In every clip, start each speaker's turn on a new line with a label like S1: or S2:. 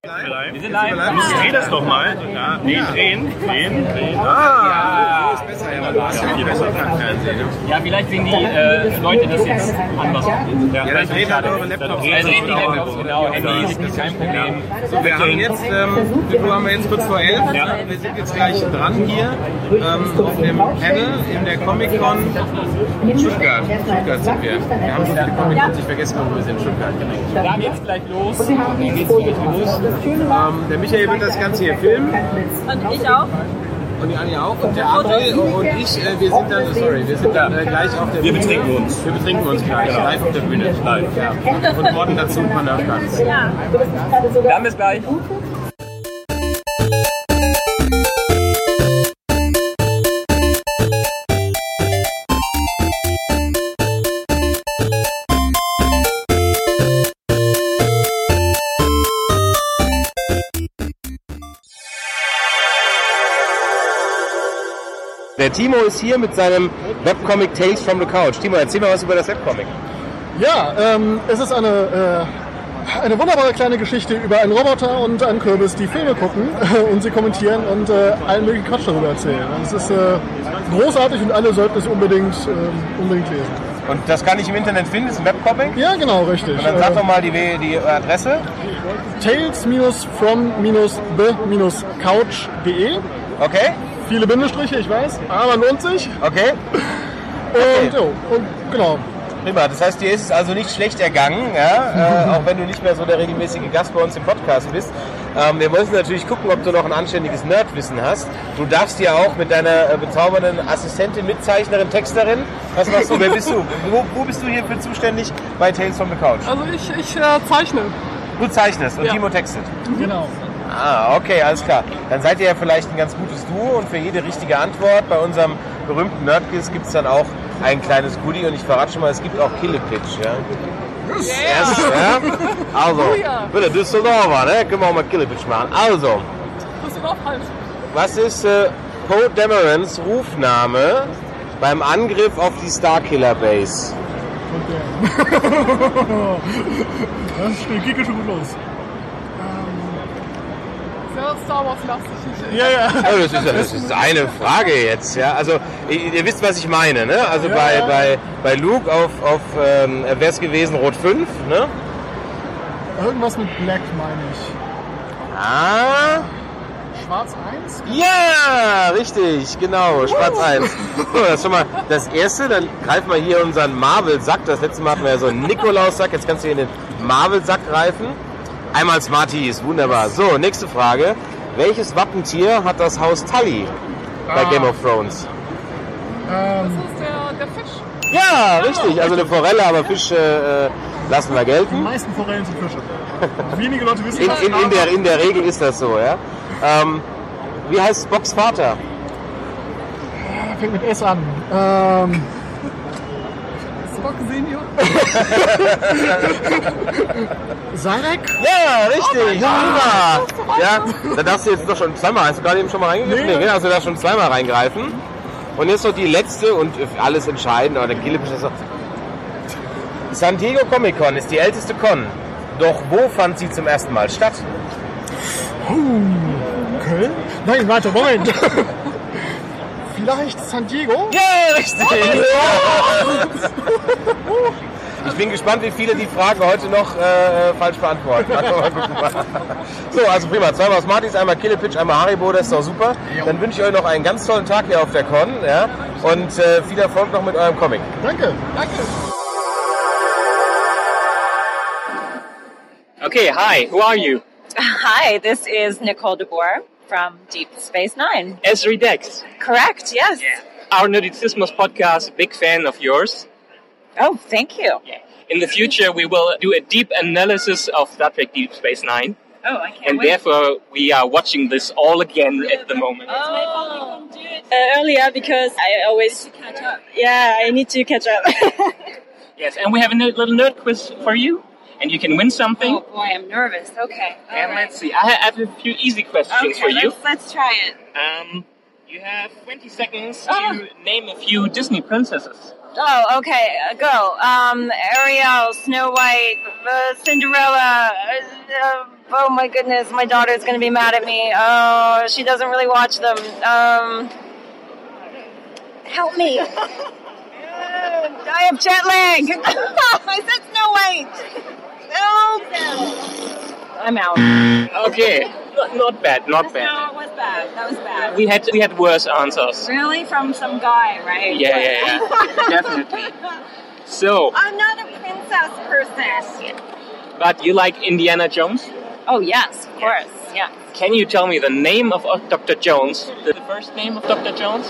S1: Wir sind live. Dreh das doch mal. Ja, drehen.
S2: Ah, ist besser. Viel besser Fernsehen.
S1: Ja, vielleicht sehen die Leute das jetzt anders.
S2: Ja, dann dreht halt eure Laptops.
S1: Ja, dreht die Laptops, genau. Handys, ist kein Problem.
S2: So, wir haben jetzt, kurz vor 11. Ja. Wir sind jetzt gleich dran hier auf dem Panel in der Comic-Con Stuttgart. Stuttgart sind wir. Wir haben schon die Comic-Con nicht vergessen, wo wir sind. Stuttgart.
S1: Dann geht's gleich los. Dann geht's gleich los.
S2: Der Michael wird das Ganze hier filmen.
S3: Und ich auch.
S2: Und die Anja auch. Und der André und ich, wir sind dann gleich auf der Bühne. Wir betrinken uns gleich, live auf der Bühne. Live, ja. Und worden dazu ein paar Nerfguns.
S3: Ja.
S1: Dann bis gleich.
S2: Der Timo ist hier mit seinem Webcomic Tales from the Couch. Timo, erzähl mal was über das Webcomic.
S4: Ja, es ist eine wunderbare kleine Geschichte über einen Roboter und einen Kürbis, die Filme gucken und sie kommentieren und allen möglichen Quatsch darüber erzählen. Und es ist großartig und alle sollten es unbedingt lesen.
S2: Und das kann ich im Internet finden, ist ein Webcomic?
S4: Ja, genau, richtig.
S2: Und dann sag doch mal die Adresse.
S4: Tales-from-the-couch.de.
S2: Okay.
S4: Viele Bindestriche, ich weiß, aber lohnt sich.
S2: Okay.
S4: Und genau.
S2: Prima, das heißt, dir ist es also nicht schlecht ergangen, ja? Auch wenn du nicht mehr so der regelmäßige Gast bei uns im Podcast bist. Wir müssen natürlich gucken, ob du noch ein anständiges Nerdwissen hast. Du darfst ja auch mit deiner bezaubernden Assistentin, Mitzeichnerin, Texterin, was machst du, wer bist du? Wo bist du hier für zuständig bei Tales from the Couch?
S5: Also ich zeichne.
S2: Du zeichnest und
S5: Ja.
S2: Timo textet?
S4: Genau.
S2: Ah, okay, alles klar. Dann seid ihr ja vielleicht ein ganz gutes Duo und für jede richtige Antwort bei unserem berühmten Nerdquiz gibt es dann auch ein kleines Goodie und ich verrate schon mal, es gibt auch Killepitch, ja? Yes, ja? Also, bitte Düsseldorfer, ne? Können wir auch mal Killepitch machen. Also,
S5: Düsseldorf halt.
S2: was ist Poe Damerons Rufname beim Angriff auf die Starkiller Base?
S4: Das geht schon gut los.
S5: Sehr Star Wars lastig.
S4: Ja.
S2: Oh, das ist eine Frage jetzt, ja. Also ihr wisst, was ich meine, ne? Also bei Luke auf wäre es gewesen Rot 5, ne?
S4: Irgendwas mit Black meine ich.
S2: Ah,
S4: Schwarz 1?
S2: ja, richtig, genau, Schwarz 1. So, das ist schon mal das Erste, dann greifen wir hier unseren Marvel-Sack. Das letzte Mal hatten wir ja so einen Nikolaus-Sack, jetzt kannst du hier in den Marvel-Sack greifen. Einmal Smarties, wunderbar. So, nächste Frage. Welches Wappentier hat das Haus Tully bei Game of Thrones?
S5: Das ist der Fisch.
S2: Ja, richtig. Also eine Forelle, aber Fisch lassen wir
S4: Die
S2: gelten.
S4: meisten Forellen sind Fische. Wenige Leute wissen
S2: In der Regel ist das so, ja. Wie heißt Spocks Vater?
S4: Fängt mit S an.
S5: Spock Senior.
S4: Sarek?
S2: Ja, richtig. Ja, da darfst du jetzt doch schon zweimal. Hast du gerade eben schon mal reingegriffen? Nee, also da schon zweimal reingreifen. Und jetzt noch die letzte und alles entscheidend. Aber der Killepitch ist so. San Diego Comic Con ist die älteste Con. Doch wo fand sie zum ersten Mal statt?
S4: Köln? Nein, warte, Moment. Vielleicht San Diego?
S2: Ja, richtig. Ich bin gespannt, wie viele die Frage heute noch falsch beantworten. Mal gucken. So, also prima. Zweimal Smarties, einmal Killepitch, einmal Haribo, das ist doch super. Dann wünsche ich euch noch einen ganz tollen Tag hier auf der Con. Ja? Und viel Erfolg noch mit eurem Comic.
S4: Danke.
S1: Okay, hi, who are you?
S3: Hi, this is Nicole DeBoer from Deep Space Nine.
S1: Esri Dex.
S3: Correct, yes.
S1: Our Nerdizismus podcast, big fan of yours.
S3: Oh, thank you.
S1: In the future, we will do a deep analysis of Star Trek Deep Space Nine.
S3: Oh, I can't
S1: And
S3: wait.
S1: therefore, we are watching this all again at the moment.
S3: Earlier because I always catch up. Yeah, I need to catch up.
S1: Yes, and we have a little nerd quiz for you. And you can win something.
S3: Oh boy, I'm nervous. Okay.
S1: And let's see. I have a few easy questions for you.
S3: Let's try it.
S1: You have 20 seconds to name a few Disney princesses.
S3: Oh, okay. Go. Ariel, Snow White, Cinderella,
S6: Oh my goodness, my daughter's going to be mad at me. Oh, she doesn't really watch them. Help me. I have jet lag. I said Snow White. No. I'm out.
S1: Okay, not bad, not bad.
S3: No, it was bad. That was bad.
S1: We had worse answers.
S3: Really? From some guy, right?
S1: Yeah. Definitely. So,
S3: I'm not a princess person.
S1: but you like Indiana Jones?
S3: Oh, yes, of course. Yeah.
S1: Can you tell me the name of Dr. Jones? The first name of Dr. Jones?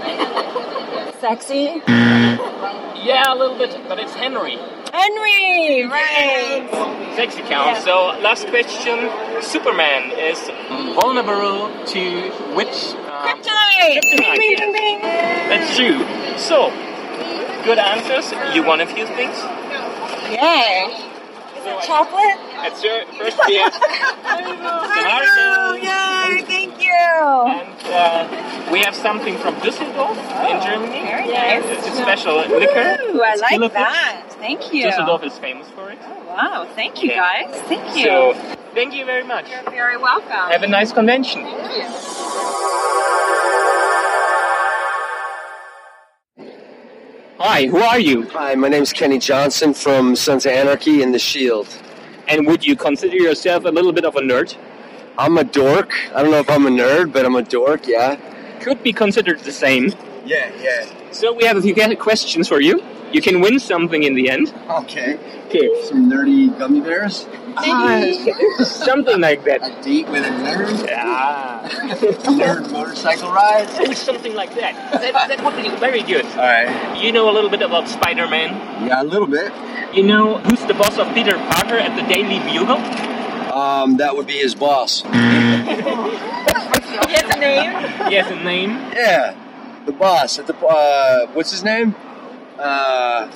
S3: Sexy?
S1: Yeah, a little bit, but it's Henry.
S3: Henry! Right.
S1: Sexy count.
S3: Yeah.
S1: So, last question. Superman is vulnerable to which...
S3: Kryptonite!
S1: Kryptonite,
S3: Bing,
S1: yes.
S3: bing, bing.
S1: That's true. So, good answers. You won a few things.
S3: Yay. Is it chocolate?
S1: That's your first beer.
S3: Oh, yay, thank you.
S1: And we have something from Düsseldorf in Germany.
S3: Very nice.
S1: It's a special liquor.
S3: Ooh, I like
S1: Skillet.
S3: that. Thank you.
S1: Düsseldorf is famous for it.
S3: Wow, thank you,
S1: Yeah.
S3: guys. Thank you.
S1: So, thank you very much.
S3: You're very welcome.
S1: Have a nice convention. Hi, who are you?
S7: Hi, my name's Kenny Johnson from Sons of Anarchy and The Shield.
S1: And would you consider yourself a little bit of a nerd?
S7: I'm a dork. I don't know if I'm a nerd, but I'm a dork, yeah.
S1: Could be considered the same.
S7: Yeah.
S1: So we have a few questions for you. You can win something in the end.
S7: Okay.
S1: Okay.
S7: Some nerdy gummy bears?
S1: Something like that.
S7: A date with a nerd?
S1: Ah.
S7: Nerd motorcycle ride?
S1: Oh, something like that. That would be very good.
S7: Alright.
S1: You know a little bit about Spider-Man?
S7: Yeah, a little bit.
S1: You know who's the boss of Peter Parker at the Daily Bugle?
S7: That would be his boss.
S3: He has a name?
S1: He has a name.
S7: Yeah, the boss at the, what's his name? Yeah.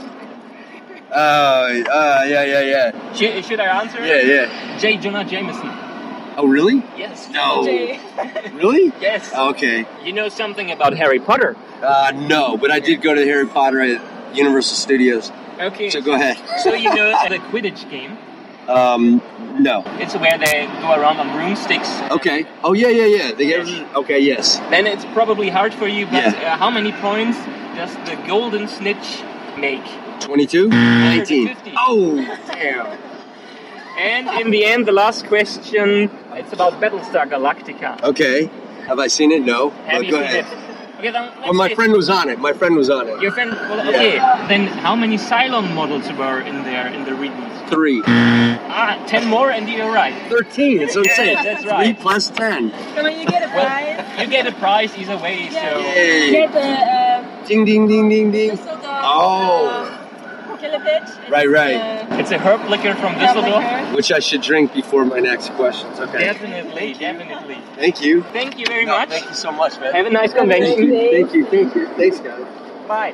S1: Should I answer?
S7: Yeah.
S1: J. Jonah Jameson.
S7: Oh, really?
S1: Yes.
S7: No.
S3: Jay.
S7: Really?
S1: Yes.
S7: Okay.
S1: You know something about Harry Potter?
S7: No, but I did go to Harry Potter at Universal Studios.
S1: Okay.
S7: So go ahead.
S1: So you know the Quidditch game?
S7: No.
S1: It's where they go around on broomsticks.
S7: Okay. Oh, yeah. They get, okay, yes.
S1: Then it's probably hard for you, but
S7: Yeah.
S1: how many points does the golden snitch make?
S7: 22? 19.
S1: 50.
S7: Oh, damn.
S1: And in the end, the last question, it's about Battlestar Galactica.
S7: Okay. Have I seen it? No.
S1: Have
S7: But
S1: you
S7: go
S1: seen
S7: ahead.
S1: it? Okay, then let's
S7: Well, my
S1: say-
S7: friend was on it.
S1: Your friend, well, okay. Then how many Cylon models were in there in the reboot?
S7: 3.
S1: 10 more and you're right.
S7: 13. That's what I'm saying.
S1: That's right.
S7: 3 plus 10.
S3: Come on, you get a prize.
S1: You get a prize either way, so...
S7: Yay.
S3: Get the
S7: Ding, ding, ding, ding, ding.
S3: Düsseldorf,
S7: Oh.
S3: Kilopitch.
S7: Right.
S1: It's a herb liquor from Düsseldorf.
S7: Which I should drink before my next questions. Okay.
S1: Definitely.
S7: Thank you.
S1: Thank you very much.
S7: Thank you so much, man.
S1: Have a nice convention.
S7: Thank you. Thanks, guys.
S1: Bye.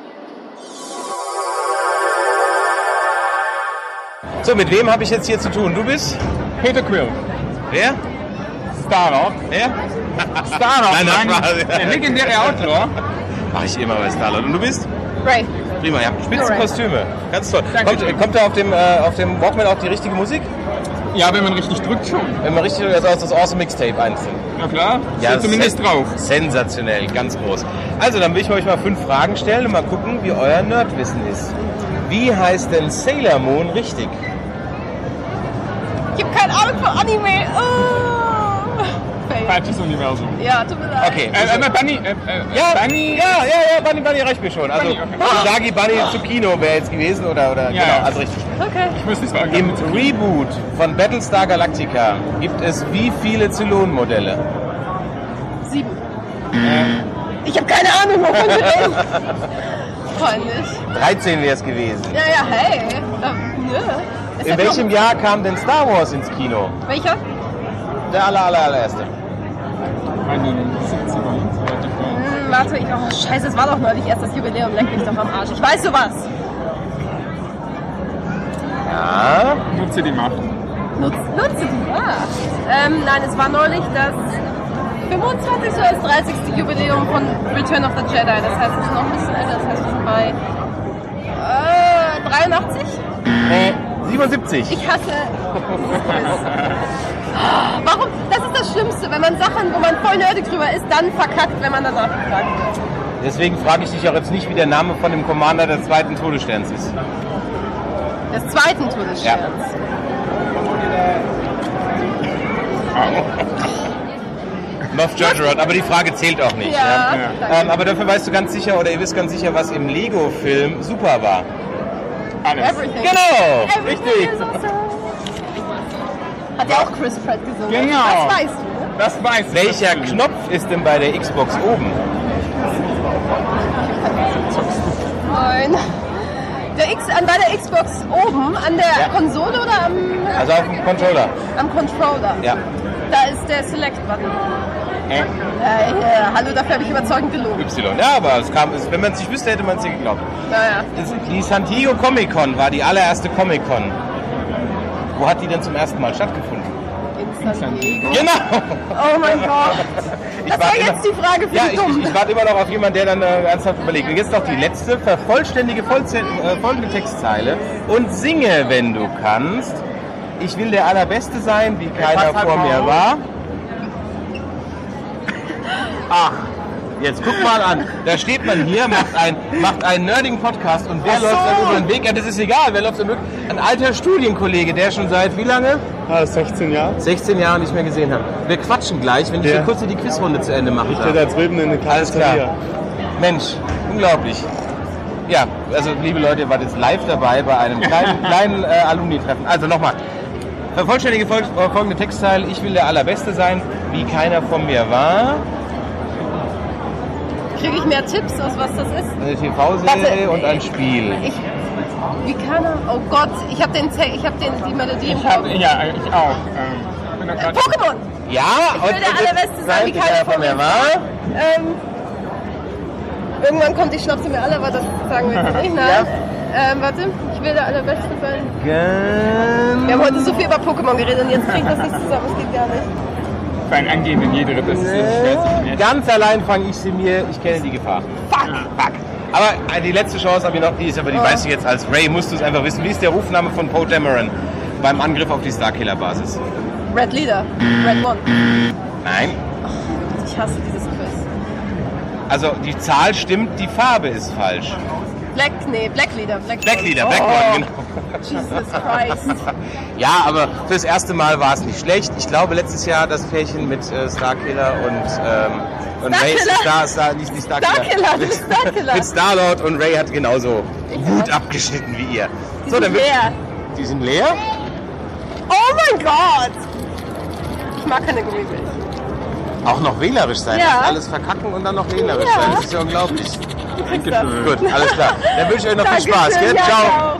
S2: So, mit wem habe ich jetzt hier zu tun? Du bist?
S8: Peter Quill.
S2: Wer?
S8: Starlord.
S2: Wer?
S8: Starlord,
S2: Nein,
S8: der legendäre Outlaw.
S2: Mach ich immer bei Starlord. Und du bist?
S3: Ray.
S2: Prima, ja. Spitzenkostüme. Ganz toll.
S8: Danke.
S2: Kommt da auf dem Walkman auch die richtige Musik?
S8: Ja, wenn man richtig drückt schon.
S2: Wenn man richtig, also das Awesome Mixtape einzeln.
S8: Na klar,
S2: Ja,
S8: steht zumindest drauf.
S2: Sensationell, ganz groß. Also, dann will ich euch mal 5 Fragen stellen und mal gucken, wie euer Nerdwissen ist. Wie heißt denn Sailor Moon richtig?
S9: Ich habe keine Ahnung von Anime. Oh.
S8: Falsches Universum.
S9: Ja, tut mir leid.
S2: Okay.
S8: Bunny. Bunny.
S2: Bunny reicht mir schon. Also, Usagi Bunny Tsukino wäre jetzt gewesen oder
S8: Ja.
S2: genau, also richtig.
S9: Okay.
S8: Ich muss es sagen.
S2: Im Reboot von Battlestar Galactica gibt es wie viele Zylon-Modelle?
S9: 7. Ich habe keine Ahnung, wovon du redest. Peinlich.
S2: 13 wäre es gewesen.
S9: Ja, hey. Nö.
S2: In welchem Jahr kam denn Star Wars ins Kino?
S9: Welcher?
S2: Der allererste.
S8: In den 70ern.
S9: Warte, scheiße, es war doch neulich erst das Jubiläum. Leck mich doch am Arsch. Ich weiß sowas.
S2: Ja.
S8: Nutze die Macht.
S9: Nutze die Macht. Nein, es war neulich das 25. oder das 30. Jubiläum von Return of the Jedi. Das heißt, es ist noch ein bisschen älter. Das heißt, wir sind bei 83?
S2: Nee, 77.
S9: Ich hasse. Warum? Das ist das Schlimmste, wenn man Sachen, wo man voll nerdig drüber ist, dann verkackt, wenn man danach gefragt wird.
S2: Deswegen frage ich dich auch jetzt nicht, wie der Name von dem Commander des 2. Todessterns ist.
S9: Des 2. Todessterns?
S2: Ja. Moff Judgerod, aber die Frage zählt auch nicht.
S9: Ja.
S2: Aber dafür weißt du ganz sicher, oder ihr wisst ganz sicher, was im Lego-Film super war.
S8: Alles.
S9: Everything.
S2: Genau,
S9: Everything
S2: richtig.
S9: is awesome. Hat ja auch Chris Pratt gesungen.
S8: Genau.
S9: Das weißt du, ne?
S8: Das weiß ich.
S2: Welcher Knopf ist denn bei der Xbox oben?
S9: Nein. Bei der Xbox oben, an der Konsole oder
S2: Also auf dem Controller.
S9: am Controller?
S2: Ja.
S9: Da ist der Select-Button. Hallo, dafür habe ich überzeugend gelogen.
S2: Y. Ja, aber wenn man es nicht wüsste, hätte man es dir geglaubt.
S9: Naja.
S2: Die San Diego Comic Con war die allererste Comic Con. Wo hat die denn zum ersten Mal stattgefunden?
S9: In San Diego.
S2: Genau!
S9: Oh mein Gott. Das war jetzt die Frage für die Dummen.
S2: Ich warte immer noch auf jemanden, der dann ernsthaft überlegt. Und jetzt noch die letzte, vervollständige folgende Textzeile und singe, wenn du kannst. Ich will der Allerbeste sein, wie keiner vor mir war. Ach, jetzt guck mal an. Da steht man hier, macht einen nerdigen Podcast und wer läuft dann über den Weg? Ja, das ist egal, wer läuft dann wirklich? Ein alter Studienkollege, der schon seit wie lange?
S10: 16 Jahre.
S2: 16 Jahre nicht mehr gesehen habe. Wir quatschen gleich, wenn ich hier kurz die Quizrunde zu Ende mache.
S10: Ich stehe da drüben in der Cafeteria.
S2: Mensch, unglaublich. Ja, also liebe Leute, ihr wart jetzt live dabei bei einem kleinen Alumni-Treffen. Also nochmal. Vervollständige folgende Textteil. Ich will der Allerbeste sein, wie keiner von mir war.
S9: Kriege ich mehr Tipps, aus was das ist?
S2: Eine TV-Serie und ein Spiel.
S9: Wie kann er? Oh Gott, ich habe die Melodie im Kopf.
S8: Ja, ich auch.
S9: Pokémon!
S2: Ja,
S9: ich will der Allerbeste sein, wie keiner von mir war. Irgendwann kommt, ich schnapp sie mir alle, aber das sagen wir jetzt nicht. Nein. Warte, ich will der Allerbeste sein. Wir haben heute so viel über Pokémon geredet und jetzt kriege ich das nicht zusammen, das geht gar nicht.
S8: Für ein Angehen in jeder, das ist schwer.
S2: Ganz allein fange ich sie mir, ich kenne die Gefahr.
S9: Fuck!
S2: Aber die letzte Chance habe ich noch, die ist aber, die weißt du jetzt als Ray, musst du es einfach wissen. Wie ist der Rufname von Poe Dameron beim Angriff auf die Starkiller-Basis?
S9: Red Leader, Red One.
S2: Nein.
S9: Oh, ich hasse dieses Quiz.
S2: Also die Zahl stimmt, die Farbe ist falsch.
S9: Black Leader.
S2: Black One, genau.
S9: Jesus Christ.
S2: Ja, aber fürs erste Mal war es nicht schlecht. Ich glaube, letztes Jahr das Pärchen mit Starkiller und Ray, nicht Starkiller. Mit Star-Lord und Ray hat genauso gut abgeschnitten wie ihr.
S9: Die sind leer.
S2: Die sind leer?
S9: Oh mein Gott! Ich mag keine Gummibärchen.
S2: Auch noch wählerisch sein.
S9: Ja.
S2: Alles verkacken und dann noch wählerisch sein. Das ist ja unglaublich.
S9: Dankeschön.
S2: Gut, alles klar. Dann wünsche ich euch noch viel Spaß.
S9: Dankeschön,
S2: Gell?
S9: ja,
S2: Ciao.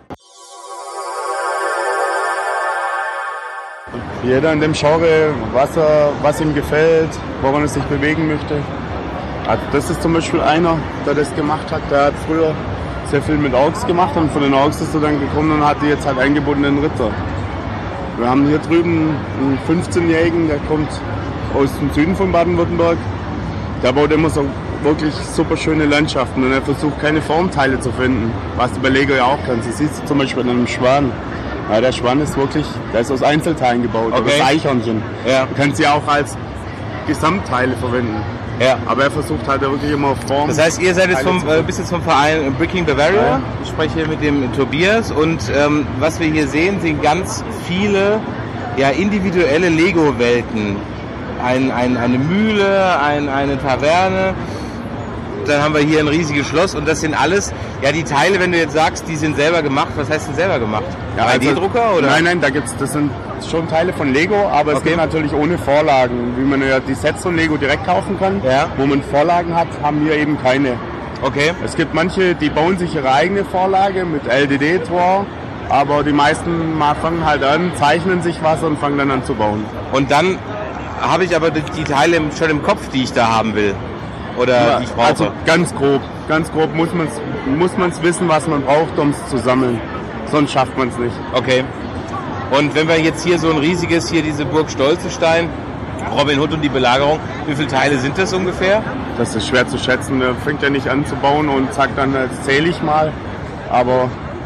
S10: Jeder in dem Genre, was ihm gefällt, woran er sich bewegen möchte. Also das ist zum Beispiel einer, der das gemacht hat. Der hat früher sehr viel mit Orks gemacht und von den Orks ist er dann gekommen und hatte jetzt halt eingebundenen Ritter. Wir haben hier drüben einen 15-Jährigen, der kommt aus dem Süden von Baden-Württemberg. Der baut immer so wirklich super schöne Landschaften und er versucht keine Formteile zu finden, was du bei Lego ja auch kannst. Das siehst du zum Beispiel an einem Schwan. Ja, der Schwan ist wirklich, der ist aus Einzelteilen gebaut, oder das Eichhörnchen. Ja. Du kannst sie auch als Gesamtteile verwenden.
S2: Ja.
S10: Aber er versucht halt wirklich immer Form.
S2: Das heißt, ihr seid jetzt bist jetzt vom Verein Bricking Bavaria. Ja. Ich spreche hier mit dem Tobias und was wir hier sehen, sind ganz viele individuelle Lego-Welten. Eine Mühle, eine Taverne. Dann haben wir hier ein riesiges Schloss und das sind alles, die Teile, wenn du jetzt sagst, die sind selber gemacht, was heißt denn selber gemacht?
S10: Ja,
S2: 3D-Drucker oder?
S10: Nein, das sind schon Teile von Lego, aber es gibt natürlich ohne Vorlagen, wie man ja die Sets von Lego direkt kaufen kann. Ja. Wo man Vorlagen hat, haben wir eben keine.
S2: Okay.
S10: Es gibt manche, die bauen sich ihre eigene Vorlage mit LDD-Draw, aber die meisten fangen halt an, zeichnen sich was und fangen dann an zu bauen.
S2: Und dann habe ich aber die Teile schon im Kopf, die ich da haben will. Oder die ich brauche.
S10: Also ganz grob muss man es wissen, was man braucht, um es zu sammeln. Sonst schafft man es nicht.
S2: Okay. Und wenn wir jetzt hier so ein riesiges, hier diese Burg Stolzenstein, Robin Hood und die Belagerung, wie viele Teile sind das ungefähr?
S10: Das ist schwer zu schätzen. Der fängt ja nicht an zu bauen und sagt dann, jetzt zähle ich mal. Aber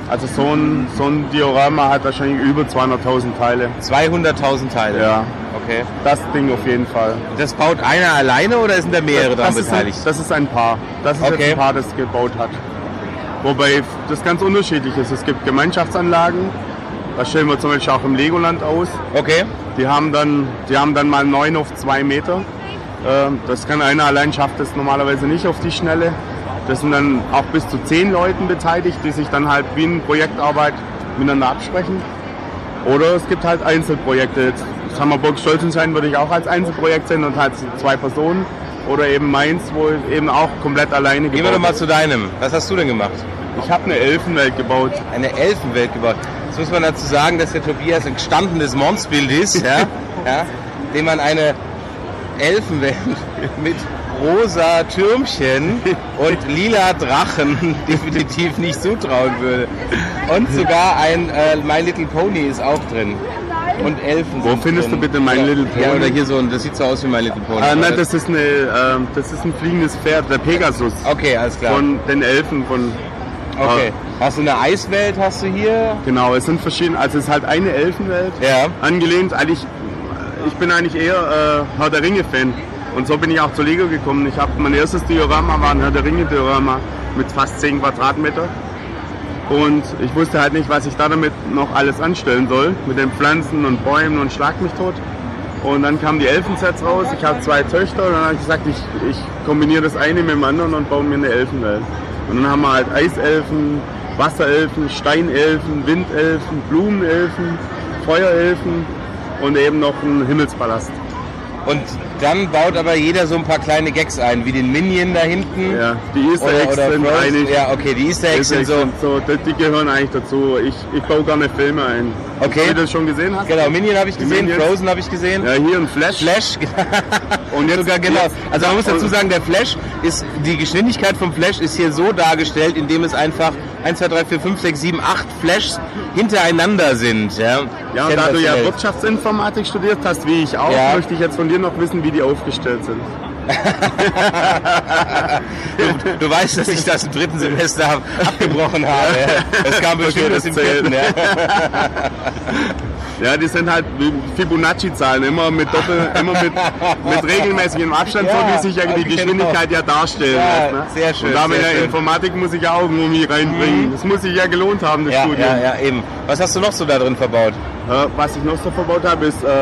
S10: Also so ein Diorama hat wahrscheinlich über 200.000 Teile.
S2: 200.000 Teile?
S10: Ja.
S2: Okay.
S10: Das Ding auf jeden Fall.
S2: Das baut einer alleine oder sind da mehrere dran beteiligt?
S10: Das ist ein Paar. Das ist jetzt ein Paar, das gebaut hat. Wobei das ganz unterschiedlich ist. Es gibt Gemeinschaftsanlagen. Das stellen wir zum Beispiel auch im Legoland aus.
S2: Okay.
S10: Die haben dann mal 9 auf 2 Meter. Das kann einer allein, schafft das normalerweise nicht auf die Schnelle. Das sind dann auch bis zu 10 Leuten beteiligt, die sich dann halt wie in Projektarbeit miteinander absprechen. Oder es gibt halt Einzelprojekte. Das Hammerburg Stolzenstein würde ich auch als Einzelprojekt sehen und halt 2 Personen. Oder eben meins, wo eben auch komplett alleine gebaut.
S2: Gehen wir doch mal zu deinem. Was hast du denn gemacht?
S10: Ich habe eine Elfenwelt gebaut.
S2: Eine Elfenwelt gebaut. Jetzt muss man dazu sagen, dass der Tobias ein gestandenes Monsbild ist, dem man eine Elfenwelt mit rosa Türmchen und lila Drachen definitiv nicht zutrauen würde. Und sogar ein My Little Pony ist auch drin. Und Elfen.
S10: Wo findest du bitte My Little Pony?
S2: Ja, oder hier so ein, das sieht so aus wie My Little Pony.
S10: Nein, das ist ein fliegendes Pferd, der Pegasus.
S2: Okay, alles klar.
S10: Von den Elfen von...
S2: Okay. Hast du eine Eiswelt, hast du hier?
S10: Genau, es sind verschiedene, also es ist halt eine Elfenwelt.
S2: Ja.
S10: Angelehnt, ich bin eigentlich eher Herr der Ringe-Fan. Und so bin ich auch zu Lego gekommen. Mein erstes Diorama war ein Herr der Ringe-Diorama mit fast 10 Quadratmeter. Und ich wusste halt nicht, was ich da damit noch alles anstellen soll. Mit den Pflanzen und Bäumen und Schlag mich tot. Und dann kamen die Elfensets raus. Ich habe 2 Töchter und dann habe ich gesagt, ich kombiniere das eine mit dem anderen und baue mir eine Elfenwelt. Und dann haben wir halt Eiselfen, Wasserelfen, Steinelfen, Windelfen, Blumenelfen, Feuerelfen und eben noch einen Himmelspalast.
S2: Und dann baut aber jeder so ein paar kleine Gags ein, wie den Minion da hinten.
S10: Ja, die Easter Eggs sind eigentlich...
S2: Ja, okay, die Easter Eggs sind so...
S10: Die gehören eigentlich dazu. Ich baue gerne Filme ein.
S2: Okay.
S10: Ob du das schon gesehen hast?
S2: Genau, Minion habe ich gesehen,
S10: Minions.
S2: Frozen habe ich gesehen.
S10: Ja, hier ein Flash.
S2: Und jetzt sogar, genau. Also man muss dazu sagen, der Flash ist, die Geschwindigkeit vom Flash ist hier so dargestellt, indem es einfach 1, 2, 3, 4, 5, 6, 7, 8 Flashs hintereinander sind. Ja,
S10: ja, und da du ja Wirtschaftsinformatik studiert hast, wie ich auch, möchte ich jetzt von dir noch wissen, wie die aufgestellt sind.
S2: du weißt, dass ich das im 3. Semester abgebrochen habe. Das kam bestimmt erst im 4.
S10: Ja, die sind halt Fibonacci-Zahlen, immer mit regelmäßigem Abstand, so wie sich ja die Geschwindigkeit ja darstellen lässt. Ne?
S2: Sehr schön.
S10: Und da mit der Informatik muss ich ja auch irgendwie reinbringen. Das muss sich ja gelohnt haben, das Studium.
S2: Ja, eben. Was hast du noch so da drin verbaut?
S10: Was ich noch so verbaut habe,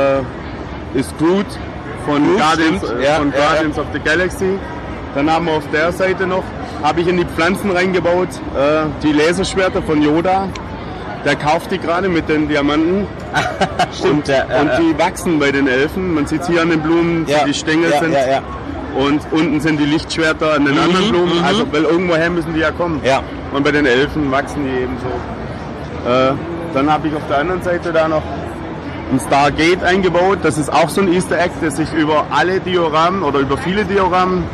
S10: ist Groot von Guardians of the Galaxy. Dann haben wir auf der Seite noch, habe ich in die Pflanzen reingebaut, die Laserschwerter von Yoda. Der kauft die gerade mit den Diamanten.
S2: Stimmt,
S10: und die wachsen bei den Elfen. Man sieht hier an den Blumen, die Stängel sind. Ja. Und unten sind die Lichtschwerter an den anderen Blumen. Also, weil irgendwoher müssen die ja kommen.
S2: Ja.
S10: Und bei den Elfen wachsen die eben so. Dann habe ich auf der anderen Seite da noch ein Stargate eingebaut. Das ist auch so ein Easter Egg, das sich über alle Dioramen oder über viele Dioramen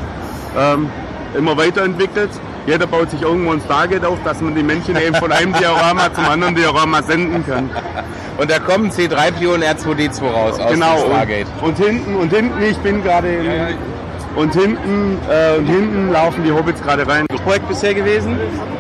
S10: immer weiterentwickelt. Jeder baut sich irgendwo ein Stargate auf, dass man die Männchen eben von einem Diorama zum anderen Diorama senden kann.
S2: Und da kommen C3PO und R2D2 raus aus dem Stargate.
S10: Und hinten, ich bin gerade und hinten laufen die Hobbits gerade rein.
S2: Projekt bisher gewesen?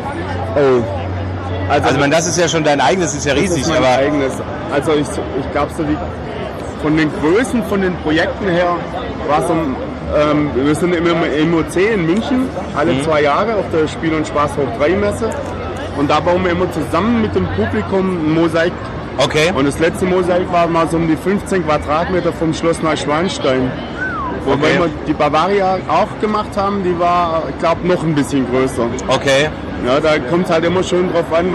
S10: Oh.
S2: Also das ist ja schon dein eigenes, ist ja riesig.
S10: Das ist mein eigenes. Also ich glaube so von den Größen, von den Projekten her war so wir sind im OC in München, alle 2 Jahre auf der Spiel- und Spaß Hoch 3 Messe. Und da bauen wir immer zusammen mit dem Publikum ein Mosaik.
S2: Okay.
S10: Und das letzte Mosaik war mal so um die 15 Quadratmeter vom Schloss Neuschwanstein. Wobei wir die Bavaria auch gemacht haben, die war, ich glaube, noch ein bisschen größer.
S2: Okay.
S10: Ja, da kommt es halt immer schön drauf an,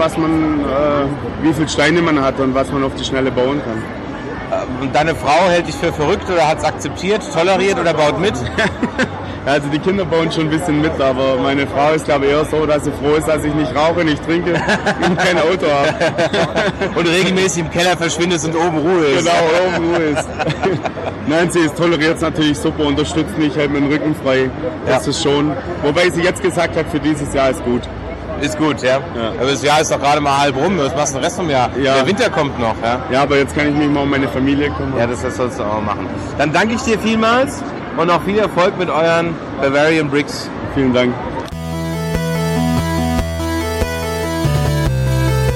S10: wie viele Steine man hat und was man auf die Schnelle bauen kann.
S2: Deine Frau hält dich für verrückt oder hat es akzeptiert, toleriert oder baut mit?
S10: Also die Kinder bauen schon ein bisschen mit, aber meine Frau ist glaube ich eher so, dass sie froh ist, dass ich nicht rauche, nicht trinke und kein Auto habe.
S2: Und regelmäßig im Keller verschwindest und oben Ruhe ist.
S10: Genau, oben Ruhe ist. Nein, sie toleriert es natürlich super, unterstützt mich, hält mir den Rücken frei. Das ist schon. Wobei sie jetzt gesagt hat, für dieses Jahr ist gut.
S2: Ist gut, ja. Aber das Jahr ist doch gerade mal halb rum. Was machst du den Rest vom Jahr?
S10: Ja.
S2: Der Winter kommt noch, ja.
S10: Ja, aber jetzt kann ich mich mal um meine Familie kümmern.
S2: Ja, das sollst du auch machen. Dann danke ich dir vielmals und auch viel Erfolg mit euren Bavarian Bricks.
S10: Vielen Dank.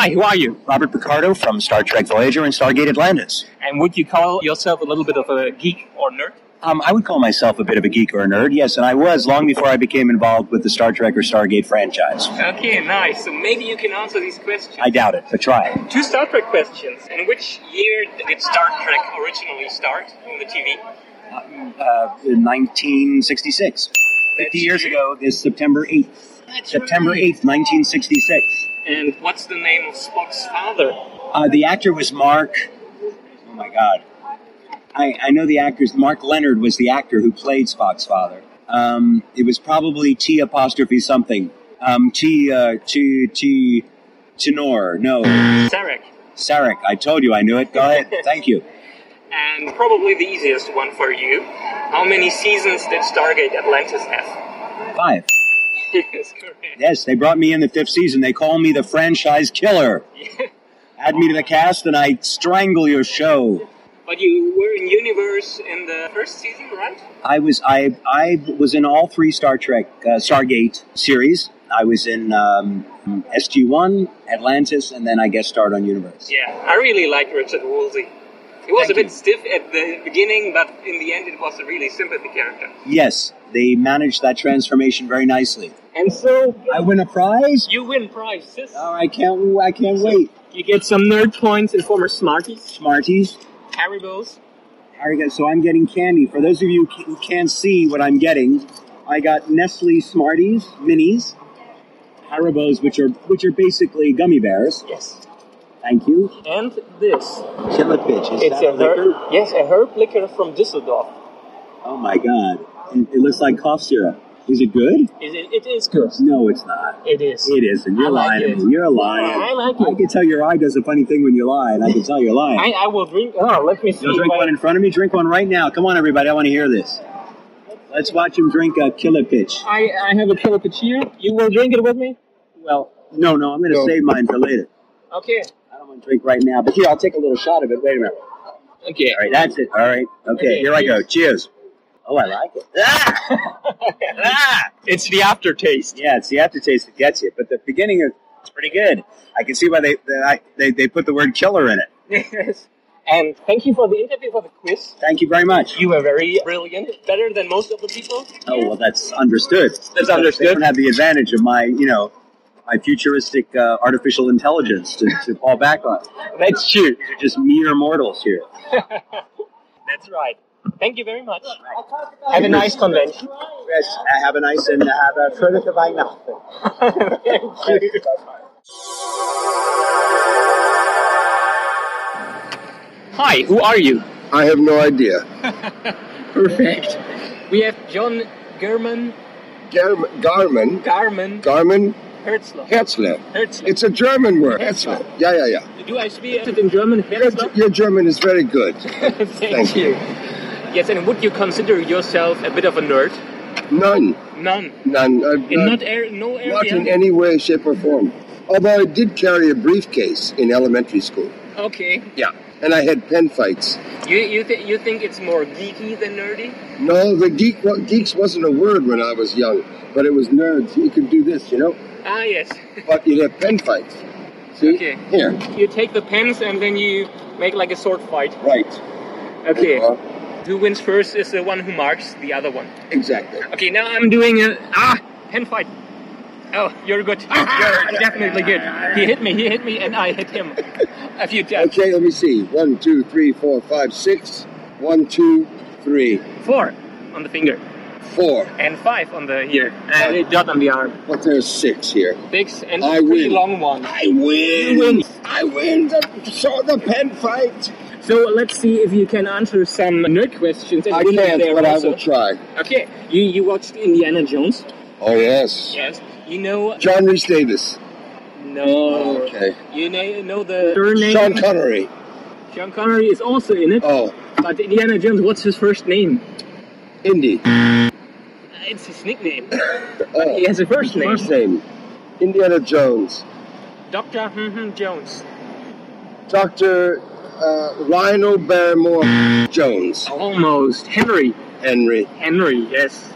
S1: Hi, who are you?
S11: Robert Picardo from Star Trek Voyager and Stargate Atlantis.
S1: And would you call yourself a little bit of a geek or nerd?
S11: I would call myself a bit of a geek or a nerd, yes, and I was long before I became involved with the Star Trek or Stargate franchise.
S1: Okay, nice. So maybe you can answer these questions.
S11: I doubt it, but try it.
S1: 2 Star Trek questions. In which year did Star Trek originally start in the TV?
S11: In 1966. 50 years ago, this September 8th. September 8th, 1966.
S1: And what's the name of Spock's father?
S11: The actor was Mark... Oh, my God. I know the actors. Mark Leonard was the actor who played Spock's father. It was probably T apostrophe something. Tenor. No. Sarek. I told you I knew it. Go ahead. Thank you.
S1: And probably the easiest one for you. How many seasons did Stargate Atlantis have?
S11: 5.
S1: Yes, correct.
S11: Yes, they brought me in the 5th season. They call me the franchise killer. Add me to the cast and I strangle your show.
S1: But you were in Universe in the 1st season, right?
S11: I was in all 3 Star Trek Stargate series. I was in SG-1, Atlantis, and then I guest starred on Universe.
S1: Yeah, I really liked Richard Woolsey. He was a bit stiff at the beginning, but in the end it was a really sympathy character.
S11: Yes, they managed that transformation very nicely.
S1: And so...
S11: I win a prize?
S1: You win prizes.
S11: Oh, I can't wait.
S1: You get some nerd points in form of Smarties.
S11: Smarties.
S1: Haribos.
S11: So I'm getting candy. For those of you who can't see what I'm getting, I got Nestle Smarties, minis, Haribos, which are basically gummy bears.
S1: Yes.
S11: Thank you.
S1: And this.
S11: Killer Pitch.
S1: It's a liquor? Yes, a herb liquor from Düsseldorf.
S11: Oh my God. It looks like cough syrup. Is it good?
S1: It is good.
S11: No, it's not.
S1: It is.
S11: It isn't. You're lying to me. You're lying.
S1: I like it.
S11: I can tell your eye does a funny thing when you lie, and I can tell you're lying.
S1: I will drink. Oh, let me see.
S11: You'll drink one in front of me? Drink one right now. Come on, everybody. I want to hear this. Let's watch him drink a Killer Pitch.
S1: I have a Killer Pitch here. You will drink it with me? Well.
S11: No. I'm going to save mine for later.
S1: Okay.
S11: I don't want to drink right now. But here, I'll take a little shot of it. Wait a minute.
S1: Okay.
S11: All right, that's it. All right. Okay, here I go. Cheers. Oh, I like it.
S1: It's the aftertaste.
S11: Yeah, it's the aftertaste that gets you. But the beginning it's pretty good. I can see why they put the word killer in it.
S1: Yes. And thank you for the interview, for the quiz.
S11: Thank you very much.
S1: You were very brilliant. Better than most of the people.
S11: Oh, well, that's understood.
S1: That's understood.
S11: They don't have the advantage of my futuristic artificial intelligence to fall back on.
S1: That's true.
S11: These are just mere mortals here.
S1: That's right. Thank you very much. Have a nice convention.
S11: Yes, have a nice and have a fröhliche Weihnachten.
S1: Thank you. Hi, who are you?
S12: I have no idea.
S1: Perfect. We have John Garman.
S12: Garman. Herzler. It's a German word. Herzler. Yeah.
S1: Do I speak it in German? Herzler?
S12: Your German is very good.
S1: Thank you. Yes, and would you consider yourself a bit of a nerd?
S12: None.
S1: No area?
S12: Not in any way, shape, or form. Although I did carry a briefcase in elementary school.
S1: Okay.
S12: Yeah. And I had pen fights.
S1: You think it's more geeky than nerdy?
S12: No, geeks wasn't a word when I was young, but it was nerds. You could do this,
S1: Ah, yes.
S12: But you'd have pen fights. See?
S1: Okay.
S12: Here.
S1: You take the pens and then you make like a sword fight.
S12: Right.
S1: Okay. Who wins first is the one who marks the other one.
S12: Exactly.
S1: Okay, now I'm doing pen fight. Oh, you're good. You're definitely good. He hit me, and I hit him a few times.
S12: Okay, let me see. 1, 2, 3, 4, 5, 6. 1, 2, 3.
S1: 4 on the finger.
S12: 4.
S1: And 5 on the here. And a dot on the arm.
S12: But there's 6 here.
S1: 6 and
S12: I
S1: a pretty
S12: win.
S1: long one.
S12: I win.
S1: You win.
S12: I win the pen fight.
S1: So let's see if you can answer some nerd questions.
S12: I can't, but I will try.
S1: Okay, you watched Indiana Jones?
S12: Oh, yes.
S1: Yes. You know...
S12: John Rhys Davis.
S1: No.
S12: Okay.
S1: You know the third name?
S12: Sean Connery.
S1: Sean Connery is also in it.
S12: Oh.
S1: But Indiana Jones, what's his first name?
S12: Indy.
S1: It's his nickname. But he has a first name.
S12: First name. Indiana Jones.
S1: Dr. Jones.
S12: Dr. Rhino Barrymore Jones.
S1: Almost. Henry,
S12: Henry.
S1: yes.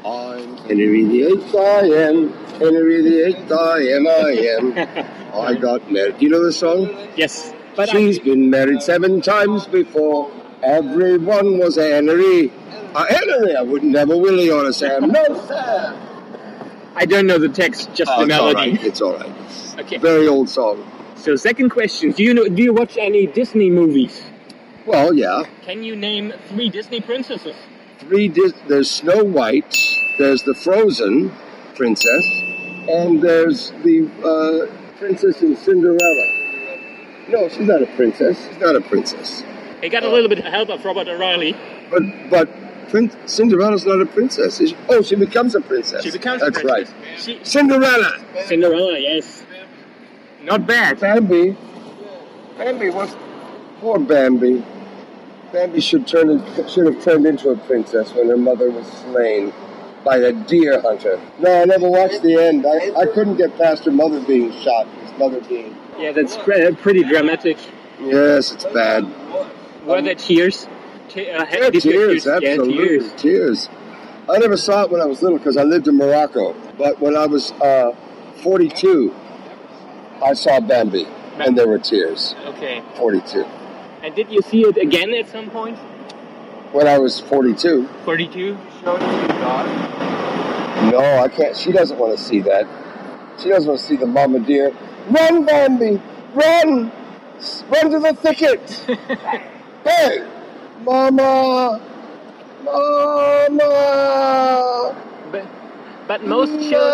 S12: I'm Henry VIII, I am. Henry VIII, I am. I got married. Do you know the song?
S1: Yes.
S12: But she's been married 7 times before. Everyone was Henry. Henry, I wouldn't have a Willie on a Sam. No, Sam.
S1: I don't know the text, just the
S12: It's all
S1: melody.
S12: right. It's all right.
S1: Okay.
S12: Very old song.
S1: So second question, do you watch any Disney movies?
S12: Well, yeah.
S1: Can you name 3 Disney princesses?
S12: There's Snow White, there's the Frozen princess, and there's the princess in Cinderella. No, she's not a princess. She's not a princess.
S1: I got a little bit of help of Robert O'Reilly.
S12: But Cinderella's not a princess. She becomes a princess.
S1: She becomes
S12: That's
S1: a princess.
S12: right. Cinderella.
S1: Cinderella, yes. Not bad.
S12: Bambi was poor Bambi. Bambi should have turned into a princess when her mother was slain by a deer hunter. No, I never watched the end. I couldn't get past her mother being shot. His mother being.
S1: Yeah, that's pretty dramatic.
S12: Yes, it's bad.
S1: Were there tears?
S12: Tears, absolutely.
S1: Yeah,
S12: tears. I never saw it when I was little because I lived in Morocco. But when I was 42, I saw Bambi, and there were tears.
S1: Okay.
S12: 42.
S1: And did you see it again at some point?
S12: When I was 42.
S1: 42?
S12: Showed it to your daughter? No, I can't. She doesn't want to see that. She doesn't want to see the mama deer. Run, Bambi! Run! Run to the thicket! Hey! Mama! Mama!
S1: But most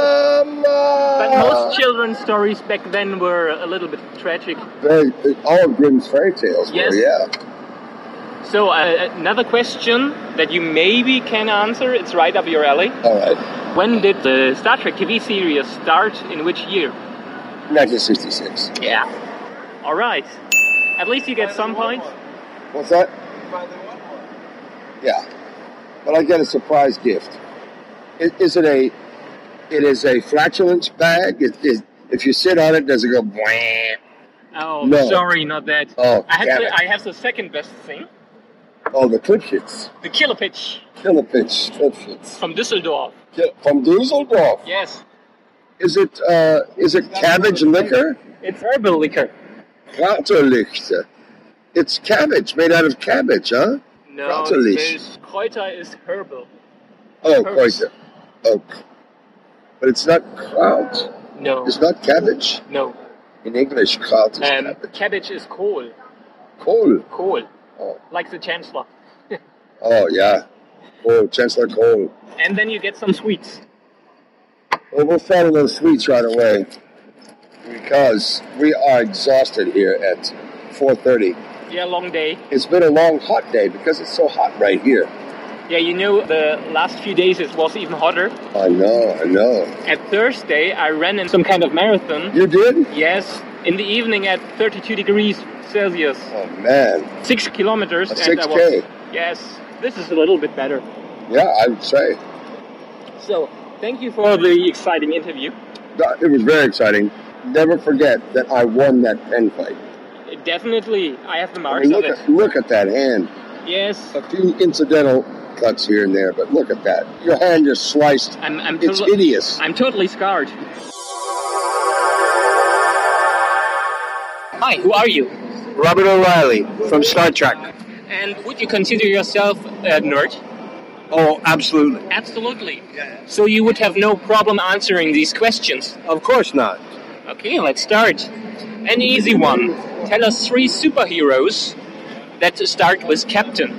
S1: children's stories back then were a little bit tragic.
S12: All of Grimm's fairy tales
S1: yes.
S12: were, yeah.
S1: So another question that you maybe can answer. It's right up your alley.
S12: All right.
S1: When did the Star Trek TV series start? In which year?
S12: 1966.
S1: Yeah. All right. At least you get some points.
S12: What's that? Yeah. But I get a surprise gift. It is a flatulence bag. If you sit on it, does it go bwah?
S1: Oh,
S12: no.
S1: Sorry, not that.
S12: Oh,
S1: I have the second best thing.
S12: Oh, the Klipschitz.
S1: The Kilopitch.
S12: Klipschitz.
S1: From Düsseldorf.
S12: From Düsseldorf?
S1: Yes.
S12: Is it cabbage liquor?
S1: It's herbal liquor.
S12: Kräuterlichter. It's cabbage, made out of cabbage, huh?
S1: No, Kräuter is herbal.
S12: Oh, Kräuter. Oh. But it's not kraut.
S1: No.
S12: It's not cabbage?
S1: No.
S12: In English, kraut is cabbage.
S1: Cabbage is Kohl.
S12: Kohl?
S1: Kohl.
S12: Oh.
S1: Like the Chancellor.
S12: Oh, yeah. Oh, Chancellor Kohl.
S1: And then you get some sweets.
S12: Well, we'll follow those sweets right away. Because we are exhausted here at 4:30.
S1: Yeah, long day.
S12: It's been a long, hot day because it's so hot right here.
S1: Yeah, you know, the last few days it was even hotter.
S12: I know.
S1: At Thursday, I ran in some kind of marathon.
S12: You did?
S1: Yes, in the evening at 32 degrees Celsius.
S12: Oh, man.
S1: 6 kilometers.
S12: A 6K.
S1: Yes, this is a little bit better.
S12: Yeah, I would say.
S1: So, thank you for the exciting interview.
S12: It was very exciting. Never forget that I won that pen fight.
S1: Definitely. I have the marks of it.
S12: Look at that hand.
S1: Yes.
S12: A few incidental cuts here and there, but look at that. Your hand just sliced. It's hideous.
S1: I'm totally scarred. Hi, who are you?
S7: Robert O'Reilly from Star Trek.
S1: And would you consider yourself a nerd?
S7: Oh, absolutely.
S1: Absolutely. So you would have no problem answering these questions?
S7: Of course not.
S1: Okay, let's start. An easy one. Tell us 3 superheroes that start with Captain.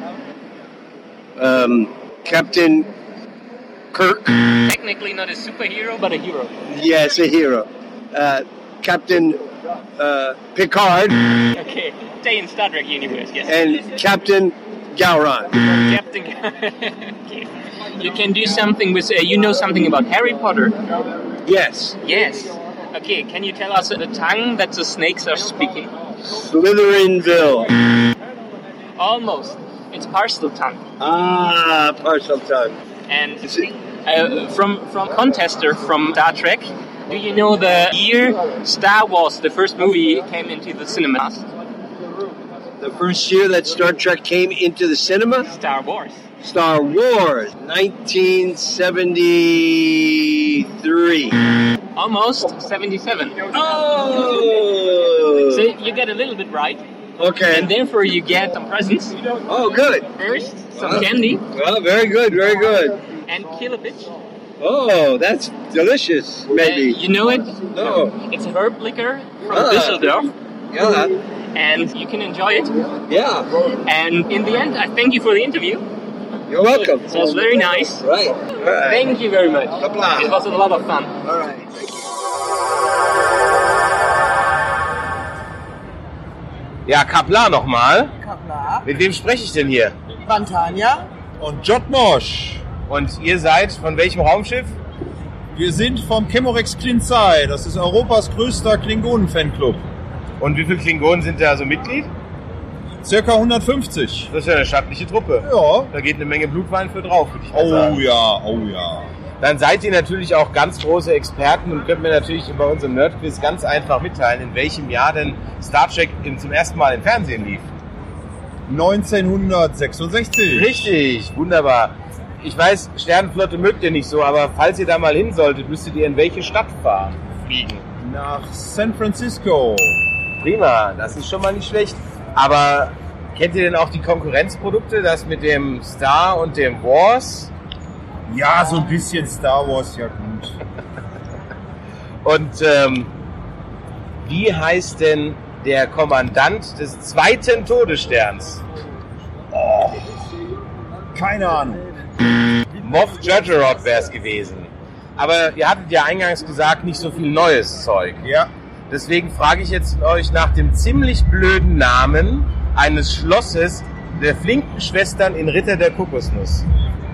S7: Captain Kirk.
S1: Technically not a superhero, but a hero.
S7: Yes, a hero. Captain Picard.
S1: Okay, stay in Star Trek universe, yes.
S7: And Captain Gowron.
S1: Captain. Okay. You can do something with. You know something about Harry Potter?
S7: Yes.
S1: Yes. Okay. Can you tell us the tongue that the snakes are speaking?
S7: Slytherinville.
S1: Almost. It's parcel tongue.
S7: Ah, parcel tongue.
S1: And from contester from Star Trek, do you know the year Star Wars, the first movie, came into the cinemas?
S7: The first year that Star Trek came into the cinema?
S1: Star Wars.
S7: Star Wars, 1973.
S1: Almost 77.
S7: Oh!
S1: So you get a little bit right.
S7: Okay.
S1: And therefore you get some presents.
S7: Oh, good.
S1: First, some candy.
S7: Well, very good, very good.
S1: And Kilopitch.
S7: Oh, that's delicious, maybe.
S1: You know it?
S7: No.
S1: It's herb liquor from Düsseldorf.
S7: Yeah.
S1: And you can enjoy it.
S7: Yeah.
S1: And in the end, I thank you for the interview.
S7: You're welcome.
S1: It was very nice.
S7: Right. All right.
S1: Thank you very much.
S7: Applaus.
S1: It was a lot of fun.
S7: All right.
S2: Ja, Kapla nochmal.
S13: Kapla.
S2: Mit wem spreche ich denn hier?
S13: Vantania.
S14: Und Jotmosch.
S2: Und ihr seid von welchem Raumschiff?
S14: Wir sind vom Chemorex Klinzai. Das ist Europas größter Klingonen-Fanclub.
S2: Und wie viele Klingonen sind da so Mitglied?
S14: Circa 150.
S2: Das ist ja eine stattliche Truppe.
S14: Ja.
S2: Da geht eine Menge Blutwein für drauf, würde ich mal sagen.
S14: Oh ja, oh ja.
S2: Dann seid ihr natürlich auch ganz große Experten und könnt mir natürlich bei unserem Nerdquiz ganz einfach mitteilen, in welchem Jahr denn Star Trek zum ersten Mal im Fernsehen lief.
S14: 1966.
S2: Richtig, wunderbar. Ich weiß, Sternenflotte mögt ihr nicht so, aber falls ihr da mal hin solltet, müsstet ihr in welche Stadt fliegen?
S14: Nach San Francisco.
S2: Prima, das ist schon mal nicht schlecht. Aber kennt ihr denn auch die Konkurrenzprodukte, das mit dem Star und dem Wars?
S14: Ja, so ein bisschen Star Wars, ja gut.
S2: Und wie heißt denn der Kommandant des zweiten Todessterns?
S14: Oh, keine Ahnung.
S2: Moff Judgerod wäre es gewesen. Aber ihr hattet ja eingangs gesagt, nicht so viel neues Zeug.
S14: Ja.
S2: Deswegen frage ich jetzt euch nach dem ziemlich blöden Namen eines Schlosses der flinken Schwestern in Ritter der Kokosnuss.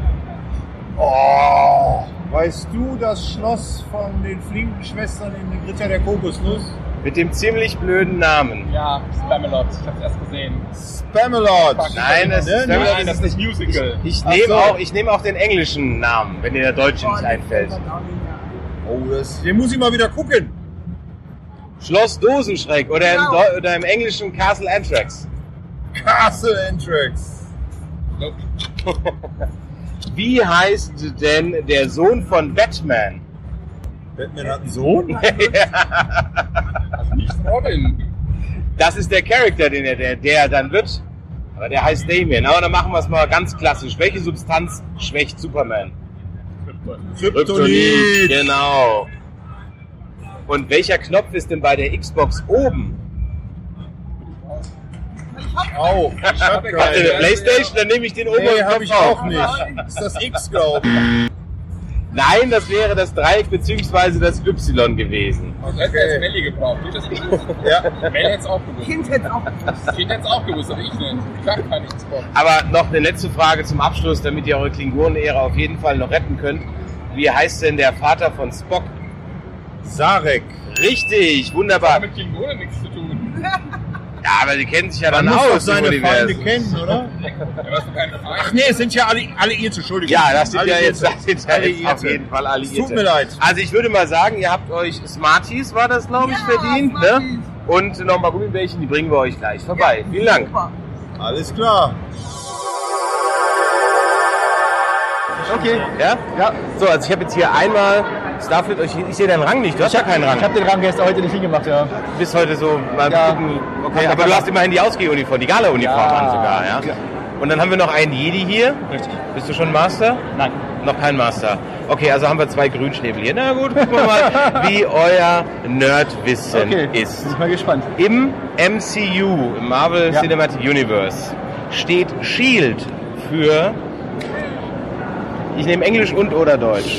S14: Oh, weißt du das Schloss von den flinken Schwestern in den Ritter der Kokosnuss?
S2: Mit dem ziemlich blöden Namen.
S8: Ja, Spamalot. Ich hab's erst gesehen.
S14: Spamalot.
S2: Nein, das ist
S8: nicht Musical.
S2: Ich nehme auch den englischen Namen, wenn dir der deutsche nicht einfällt.
S14: Oh, den muss ich mal wieder gucken.
S2: Schloss Dosenschreck oder im englischen Castle Anthrax.
S14: Castle Anthrax.
S8: Nope.
S2: Wie heißt denn der Sohn von Batman?
S14: Batman hat einen Sohn?
S2: Ja.
S8: Also nicht Robin.
S2: Das ist der Charakter, der dann wird. Aber der heißt Damien. Aber dann machen wir es mal ganz klassisch. Welche Substanz schwächt Superman?
S14: Kryptonit.
S2: Genau. Und welcher Knopf ist denn bei der Xbox oben?
S14: Auch. Ich hab
S2: keine Playstation, dann nehme ich den oberen Knopf.
S14: Hab ich auch nicht. Das ist das X, glaube ich.
S2: Nein, das wäre das Dreieck bzw. das Y gewesen.
S8: Und das hätte Melli gebraucht.
S14: Ja.
S8: Melli hätte es auch gewusst.
S13: Kind hätte es auch gewusst.
S8: Kind hätte es auch gewusst, aber ich nicht. Ich kann gar nichts von.
S2: Aber noch eine letzte Frage zum Abschluss, damit ihr eure Klingonen-Ära auf jeden Fall noch retten könnt. Wie heißt denn der Vater von Spock?
S14: Sarek.
S2: Richtig, wunderbar.
S8: Das hat mit Klingonen nichts zu tun.
S2: Ja, aber die kennen sich ja
S14: Man
S2: dann
S14: muss
S2: aus.
S14: doch seine Feinde kennen, oder?
S8: Ja, was für keine Feinde.
S14: Ach nee, es sind ja Alliierte, Entschuldigung.
S2: Ja, das sind ja
S14: Alliierte.
S2: jetzt auf jeden Fall Alliierte.
S14: Es tut mir leid.
S2: Also ich würde mal sagen, ihr habt euch Smarties, war das glaube ich, verdient. Ne? Und nochmal Gummibärchen, die bringen wir euch gleich vorbei. Vielen Dank.
S13: Super.
S14: Alles klar.
S2: Okay. Ja? Ja. So, also ich habe jetzt hier einmal Starfleet, ich sehe deinen Rang nicht, du hast ja keinen Rang.
S15: Ich habe den Rang gestern heute nicht hingemacht, ja.
S2: Du bist heute so, mal
S15: Ja.
S2: gucken, okay, aber du hast immerhin die Ausgehuniform, die Gala-Uniform an sogar, ja?
S15: Ja.
S2: Und dann haben wir noch einen Jedi hier.
S15: Richtig.
S2: Bist du schon Master?
S15: Nein.
S2: Noch kein Master. Okay, also haben wir 2 Grünschnäbel hier. Na gut, gucken wir mal, wie euer Nerdwissen ist.
S15: Bin ich mal gespannt.
S2: Im MCU, im Marvel Cinematic Universe, steht SHIELD für... Ich nehme Englisch und oder Deutsch.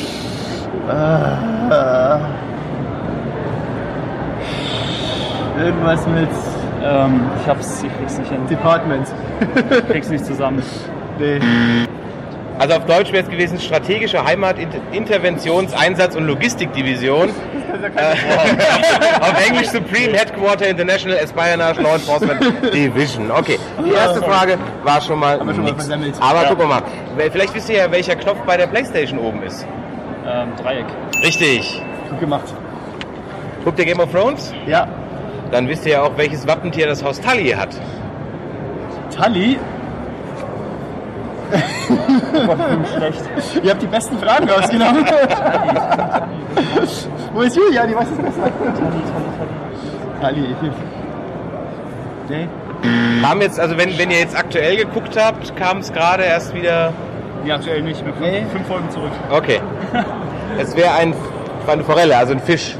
S15: Irgendwas mit... ich krieg's nicht hin.
S4: Department.
S15: Ich krieg's nicht zusammen.
S4: Nee.
S2: Also auf Deutsch wäre es gewesen Strategische Heimat, Interventions-, Einsatz- und Logistikdivision. Auf Englisch Supreme Headquarter International Espionage Law Enforcement Division. Okay, die erste Frage war schon mal nix. Aber gucken wir mal. Vielleicht wisst ihr ja, welcher Knopf bei der Playstation oben ist.
S15: Dreieck.
S2: Richtig.
S4: Gut gemacht.
S2: Guckt ihr Game of Thrones?
S15: Ja.
S2: Dann wisst ihr ja auch, welches Wappentier das Haus Tully hat.
S15: Tully? Oh Gott, ich bin schlecht.
S16: Ihr habt die besten Fragen rausgenommen. Wo ist Julia? Die weiß es besser. Tully.
S2: Nee. Haben jetzt, also wenn ihr jetzt aktuell geguckt habt, kam es gerade erst wieder...
S15: Nee, aktuell nicht. Wir sind 5 Folgen zurück.
S2: Okay. Es wäre eine Forelle, also ein Fisch.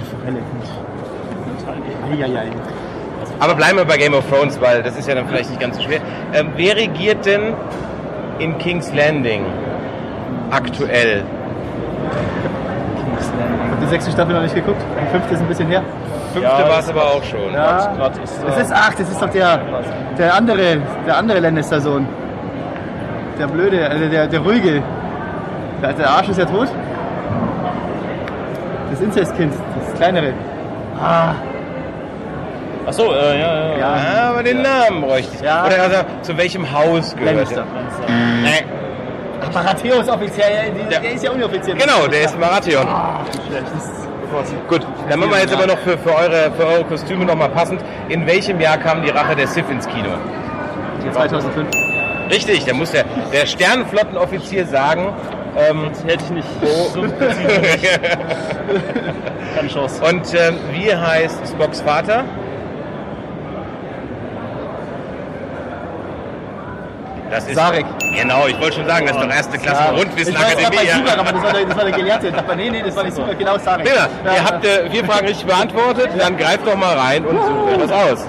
S2: Aber bleiben wir bei Game of Thrones, weil das ist ja dann vielleicht nicht ganz so schwer. Wer regiert denn in King's Landing aktuell?
S16: King's Landing. Die 6. Staffel noch nicht geguckt? Die 5. ist ein bisschen her.
S2: 5. war es aber auch schon.
S16: Ja. Das ist doch der andere Lannister-Sohn. Der Blöde, also der Ruhige. Der Arsch ist ja tot. Das Inzestkind, das kleinere.
S15: Achso, ja.
S2: Aber den Namen bräuchte ich.
S16: Ja.
S2: Oder also, zu welchem Haus gehört
S16: Lannister.
S2: Nee.
S16: Baratheon ist offiziell, der ist ja unoffiziell.
S2: Genau, der ist Baratheon. Gut, dann machen wir jetzt aber noch für eure Kostüme nochmal passend. In welchem Jahr kam die Rache der Sith ins Kino?
S16: 2005.
S2: Richtig, da muss der Sternenflottenoffizier sagen.
S15: Hätte ich nicht so präzise nicht. Keine Chance.
S2: Und wie heißt Spocks Vater? Das ist
S16: Sarek.
S2: Genau, ich wollte schon sagen, das ist doch erste Klasse Rundwissen
S16: Ich weiß,
S2: Akademie.
S16: super, aber das war der Gelehrte. Nee, das war nicht super, genau Sarek.
S2: Peter, ihr habt 4 Fragen richtig beantwortet, dann greift doch mal rein und sucht etwas aus.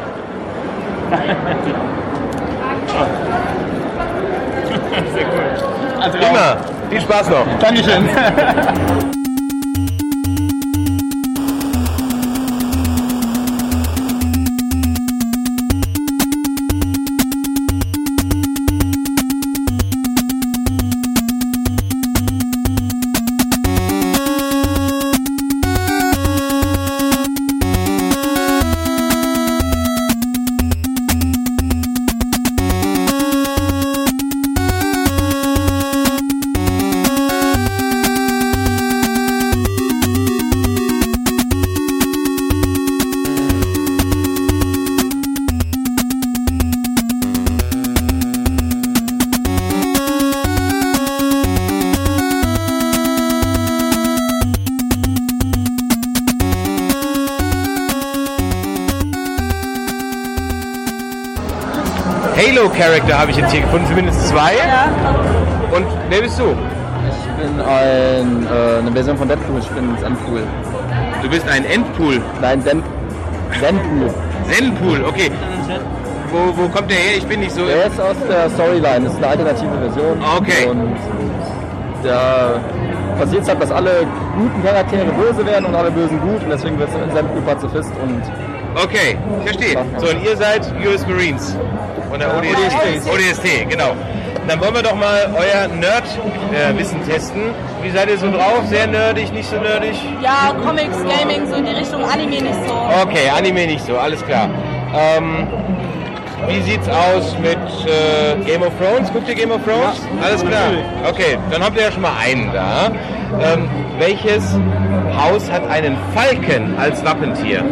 S15: Sehr cool.
S16: Also,
S2: Prima, viel Spaß noch.
S16: Dankeschön.
S2: Halo-Charakter habe ich jetzt hier gefunden, zumindest 2.
S3: Ja.
S2: Und wer bist du?
S17: Ich bin eine Version von Deadpool, ich bin Zenpool.
S2: Du bist ein Endpool?
S17: Nein, Zenpool.
S2: Zenpool, okay. Wo kommt der her? Ich bin nicht so...
S17: Der ist aus der Storyline, das ist eine alternative Version.
S2: Okay.
S17: Und da passiert es halt, dass alle guten Charaktere böse werden und alle Bösen gut. Und deswegen wird es Zenpool Pazifist und...
S2: Okay, verstehe. So, und ihr seid US Marines von der ODST, genau. Dann wollen wir doch mal euer Nerd-Wissen testen. Wie seid ihr so drauf? Sehr nerdig, nicht so nerdig?
S18: Ja, Comics, Gaming, so in die Richtung, Anime nicht so.
S2: Okay, Anime nicht so, alles klar. Wie sieht's aus mit Game of Thrones? Guckt ihr Game of Thrones? Ja, alles klar. Okay, dann habt ihr ja schon mal einen da. Welches Haus hat einen Falken als Wappentier?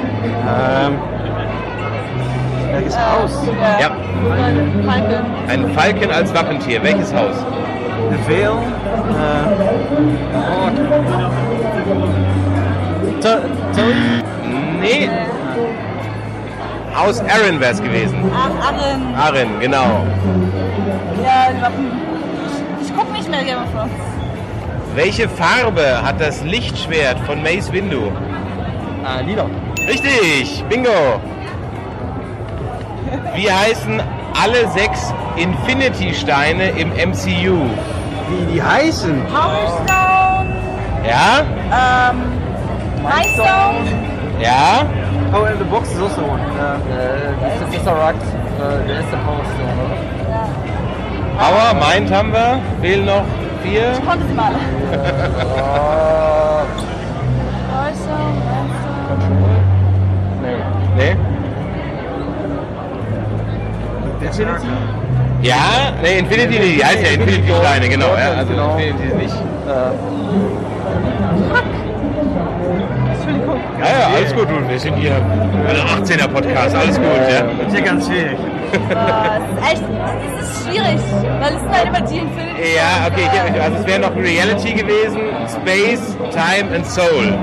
S17: Welches Haus?
S2: Ja.
S18: Falken.
S2: Ein Falken als Wappentier. Welches Haus?
S17: The Vale.
S2: Nee. Haus Arryn wäre es gewesen.
S18: Ach, Arryn.
S2: Arryn, genau.
S18: Ja, ich guck nicht mehr Game of Thrones.
S2: Welche Farbe hat das Lichtschwert von Mace Windu?
S17: Lila.
S2: Richtig, bingo. Wie heißen alle 6 Infinity-Steine im MCU?
S17: Wie die heißen?
S18: Power Stone.
S2: Ja?
S18: Night Stone.
S2: Ja?
S17: Oh, in the box is also one. Das ist Tesseract. Der ist der Power Stone, oder?
S2: Power, Mind haben wir. Fehlen noch 4.
S18: Ich konnte sie mal. Power Stone,
S2: Nee?
S17: Infinity?
S2: Ja? Nee, Infinity nicht. Die heißt ja Infinity-Steine, genau. Ja, also Infinity ist nicht. Ja, alles gut, du. Wir sind hier ein 18er-Podcast, alles gut. Ja.
S17: Das ist ja ganz schwierig.
S9: Es ist echt, es ist schwierig, weil es sind halt immer die Infinity.
S2: Ja, okay, also es wäre noch Reality gewesen, Space, Time and Soul.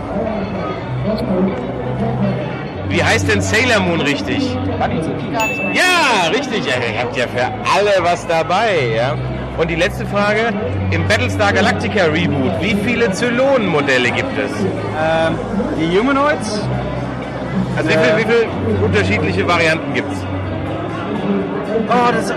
S2: Wie heißt denn Sailor Moon richtig? Ja, richtig. Ja, ihr habt ja für alle was dabei, ja. Und die letzte Frage, im Battlestar Galactica Reboot, wie viele Zylonen-Modelle gibt es?
S16: Die Humanoids?
S2: Also wie viele unterschiedliche Varianten gibt es?
S16: Oh, das,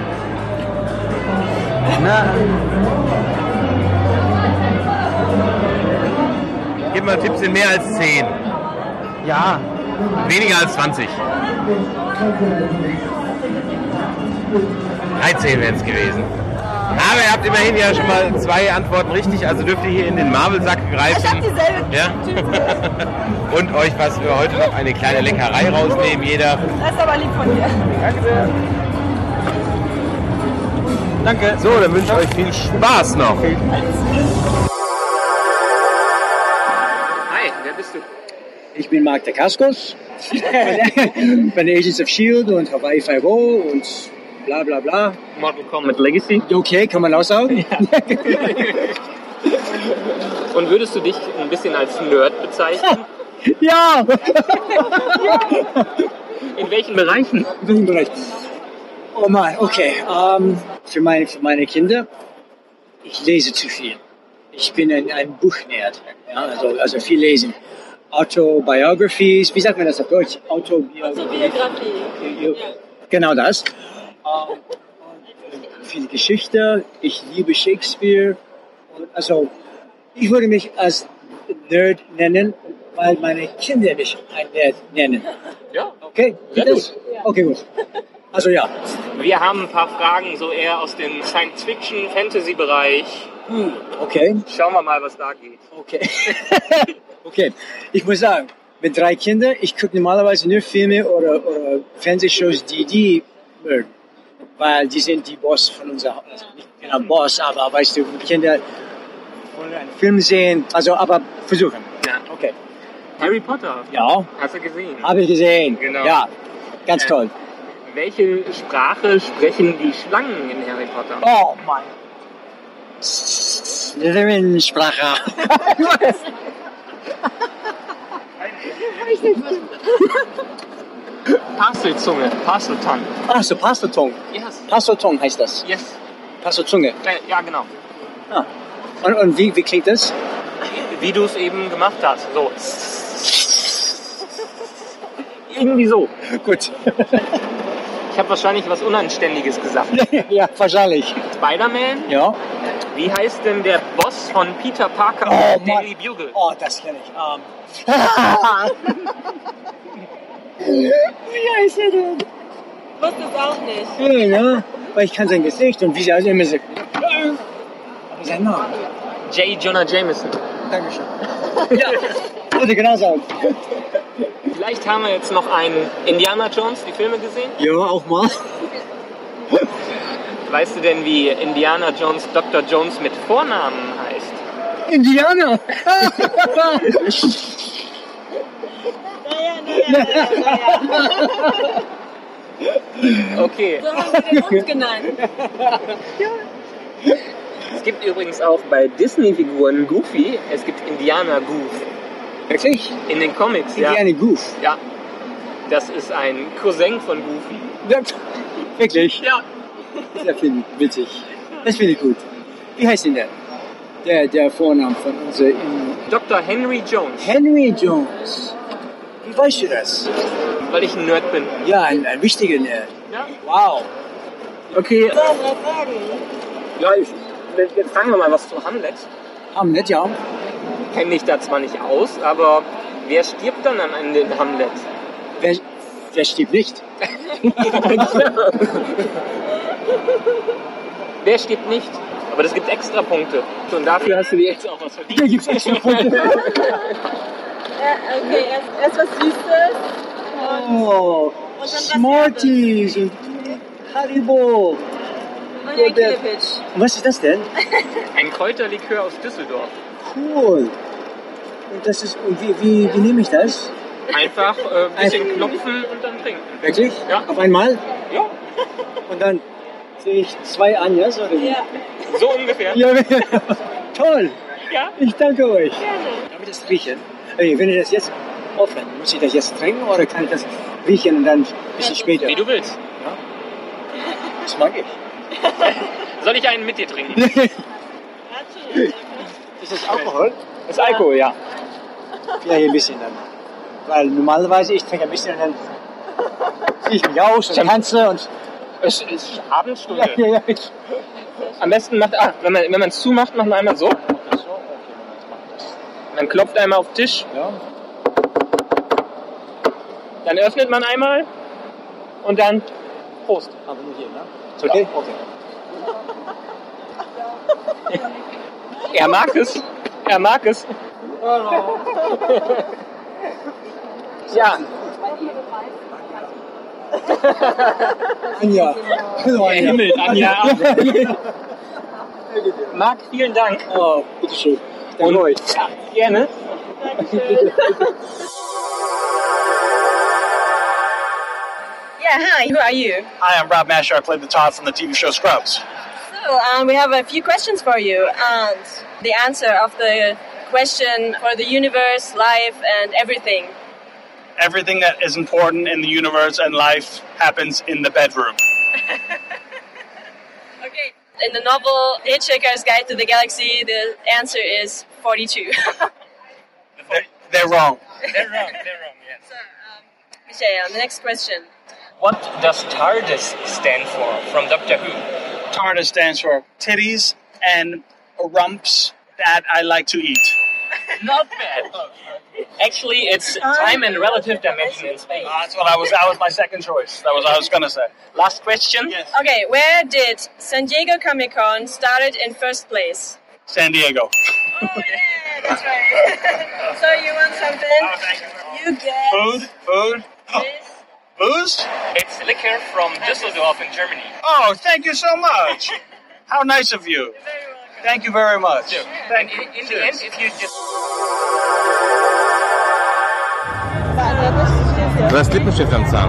S2: Gib mal Tipps, sind mehr als 10.
S16: Ja.
S2: Weniger als 20. 13 wären es gewesen. Aber ihr habt immerhin ja schon mal 2 Antworten richtig, also dürft ihr hier in den Marvel-Sack greifen.
S9: Ich hab dieselbe.
S2: Ja? Und euch was für heute noch eine kleine Leckerei rausnehmen, jeder.
S9: Das ist aber lieb von dir.
S16: Danke sehr. Danke.
S2: So, dann wünsche ich euch viel Spaß noch.
S1: Hi, wer bist du?
S19: Ich bin Mark Dacascos, bei den Agents of S.H.I.E.L.D. und Hawaii 5.0 und bla bla bla.
S1: Mortal Kombat Legacy.
S19: Okay, kann man auch sagen.
S1: Ja. Und würdest du dich ein bisschen als Nerd bezeichnen?
S19: Ja!
S1: In welchen Bereichen?
S19: In welchem Bereich? Oh Mann, okay. Für meine Kinder, ich lese zu viel. Ich bin ein Buchnerd. Ja, also viel lesen. Autobiographies, wie sagt man das auf Deutsch?
S3: Autobiografie.
S19: Ja. Genau das. Viel Geschichte. Ich liebe Shakespeare. Also, ich würde mich als Nerd nennen, weil meine Kinder mich ein Nerd nennen.
S1: Ja.
S19: Okay?
S1: Sehr gut.
S19: Okay, gut. Also ja.
S1: Wir haben ein paar Fragen so eher aus dem Science-Fiction-Fantasy-Bereich.
S19: Okay.
S1: Schauen wir mal, was da geht.
S19: Okay. Okay. Ich muss sagen, mit 3 Kindern, ich gucke normalerweise nur Filme oder Fernsehshows, die mögen. Weil die sind die Boss von unserer, also nicht genau Boss, aber weißt du, Kinder wollen einen Film sehen, also aber versuchen.
S1: Ja.
S19: Okay.
S1: Harry Potter.
S19: Ja.
S1: Hast du gesehen?
S19: Habe ich gesehen.
S1: Genau.
S19: Ja, ganz toll.
S1: Welche Sprache sprechen die Schlangen in Harry Potter?
S19: Oh mein. Slytherin-Sprache.
S1: Parselzunge, Parseltongue.
S19: Ach so, Parseltongue.
S1: Yes.
S19: Parseltongue heißt das.
S1: Yes.
S19: Parselzunge.
S1: Ja, genau.
S19: Ah. Und wie klingt das?
S1: Wie du es eben gemacht hast. So. Irgendwie so.
S19: Gut.
S1: Ich habe wahrscheinlich was Unanständiges gesagt.
S19: Ja, wahrscheinlich.
S1: Spider-Man?
S19: Ja.
S1: Wie heißt denn der Boss von Peter Parker
S19: Oh,
S1: und Daily Bugle?
S19: Oh, das kenne ich. Wie heißt er denn?
S3: Ich wusste es auch nicht.
S19: Ja, weil ich kann sein Gesicht und wie sie also immer sagt. Aber sein Name.
S1: J. Jonah Jameson.
S19: Dankeschön. Ja, würde genau sagen.
S1: Vielleicht haben wir jetzt noch einen Indiana Jones, die Filme gesehen?
S19: Ja, auch mal.
S1: Weißt du denn, wie Indiana Jones Dr. Jones mit Vornamen heißt?
S19: Indianer!
S1: Okay.
S3: So haben wir den Hund genannt.
S1: Es gibt übrigens auch bei Disney-Figuren Goofy, es gibt Indiana Goof.
S19: Wirklich?
S1: In den Comics, ja.
S19: Indiana Goof?
S1: Ja. Das ist ein Cousin von Goofy.
S19: Ja. Wirklich?
S1: Ja.
S19: Sehr viel witzig. Das finde ich gut. Wie heißt denn der? Der Vorname von unserem...
S1: Dr. Henry Jones.
S19: Henry Jones. Wie weißt du das?
S1: Weil ich ein Nerd bin.
S19: Ja, ein wichtiger Nerd.
S1: Ja.
S19: Wow.
S1: Okay. Ja, jetzt fragen wir mal was zu Hamlet.
S19: Hamlet, ja.
S1: Kenne mich da zwar nicht aus, aber wer stirbt dann am Ende in Hamlet?
S19: Wer stirbt nicht?
S1: Wer stirbt nicht? Aber das gibt extra Punkte. Und dafür hast du dir jetzt auch was verdient.
S19: Hier gibt's extra Punkte.
S3: Okay, erst was Süßes.
S19: Oh, Smarties und Haribo.
S3: Und ein Killepitch.
S19: Was ist das denn?
S1: Ein Kräuterlikör aus Düsseldorf.
S19: Cool. Und das ist, und wie nehme ich das?
S1: Einfach ein bisschen klopfen und dann trinken.
S19: Wirklich?
S1: Ja.
S19: Auf einmal?
S1: Ja.
S19: Und dann sehe ich 2 Anjas, oder wie?
S1: Ja. So ungefähr.
S19: Ja, toll.
S1: Ja.
S19: Ich danke euch.
S1: Gerne.
S19: Darf ich das riechen? Wenn ich das jetzt offen, muss ich das jetzt trinken oder kann ich das riechen und dann ein bisschen später?
S1: Wie du willst.
S19: Ja. Das mag ich.
S1: Soll ich einen mit dir trinken?
S19: Ist das Alkohol?
S1: Das ist Alkohol, ja.
S19: Vielleicht ein bisschen dann. Weil normalerweise ich trinke ein bisschen und dann ziehe ich mich aus und tanze und...
S1: Es ist Abendstunde.
S19: Ja.
S1: Am besten macht, wenn man es zumacht, macht man einmal so. Man klopft einmal auf den Tisch.
S19: Ja.
S1: Dann öffnet man einmal und dann Prost.
S19: Aber nur hier, ne? Ist okay?
S1: Okay. Er mag es. Er mag es. Ja.
S19: Anja.
S1: Himmel, Anja. Marc, vielen Dank.
S19: Oh, bitteschön.
S1: Und ja, gerne.
S3: Yeah, hi, who are you?
S20: Hi, I'm Rob Masher. I played the Todd from the TV show Scrubs.
S3: So, we have a few questions for you, and the answer of the question for the universe, life, and everything.
S20: Everything that is important in the universe and life happens in the bedroom.
S3: Okay. In the novel Hitchhiker's Guide to the Galaxy, the answer is 42.
S20: They're wrong.
S1: They're wrong, yes.
S3: So, Michael, the next question.
S1: What does TARDIS stand for from Doctor Who?
S20: TARDIS stands for titties and rumps that I like to eat.
S1: Not bad. Actually, it's time and relative dimension in space.
S20: That's what that was my second choice. That was what I was going to say.
S1: Last question.
S20: Yes.
S3: Okay, where did San Diego Comic-Con started in first place?
S20: San Diego.
S3: Oh, yeah, that's right. So you want something?
S20: Oh, thank you.
S3: You get...
S20: Food? Booze?
S1: It's liquor from Düsseldorf in Germany.
S20: Oh, thank you so much. How nice of you. Thank you very much.
S1: And in the end, if you just...
S2: Du hast Lippenstift am Zahn.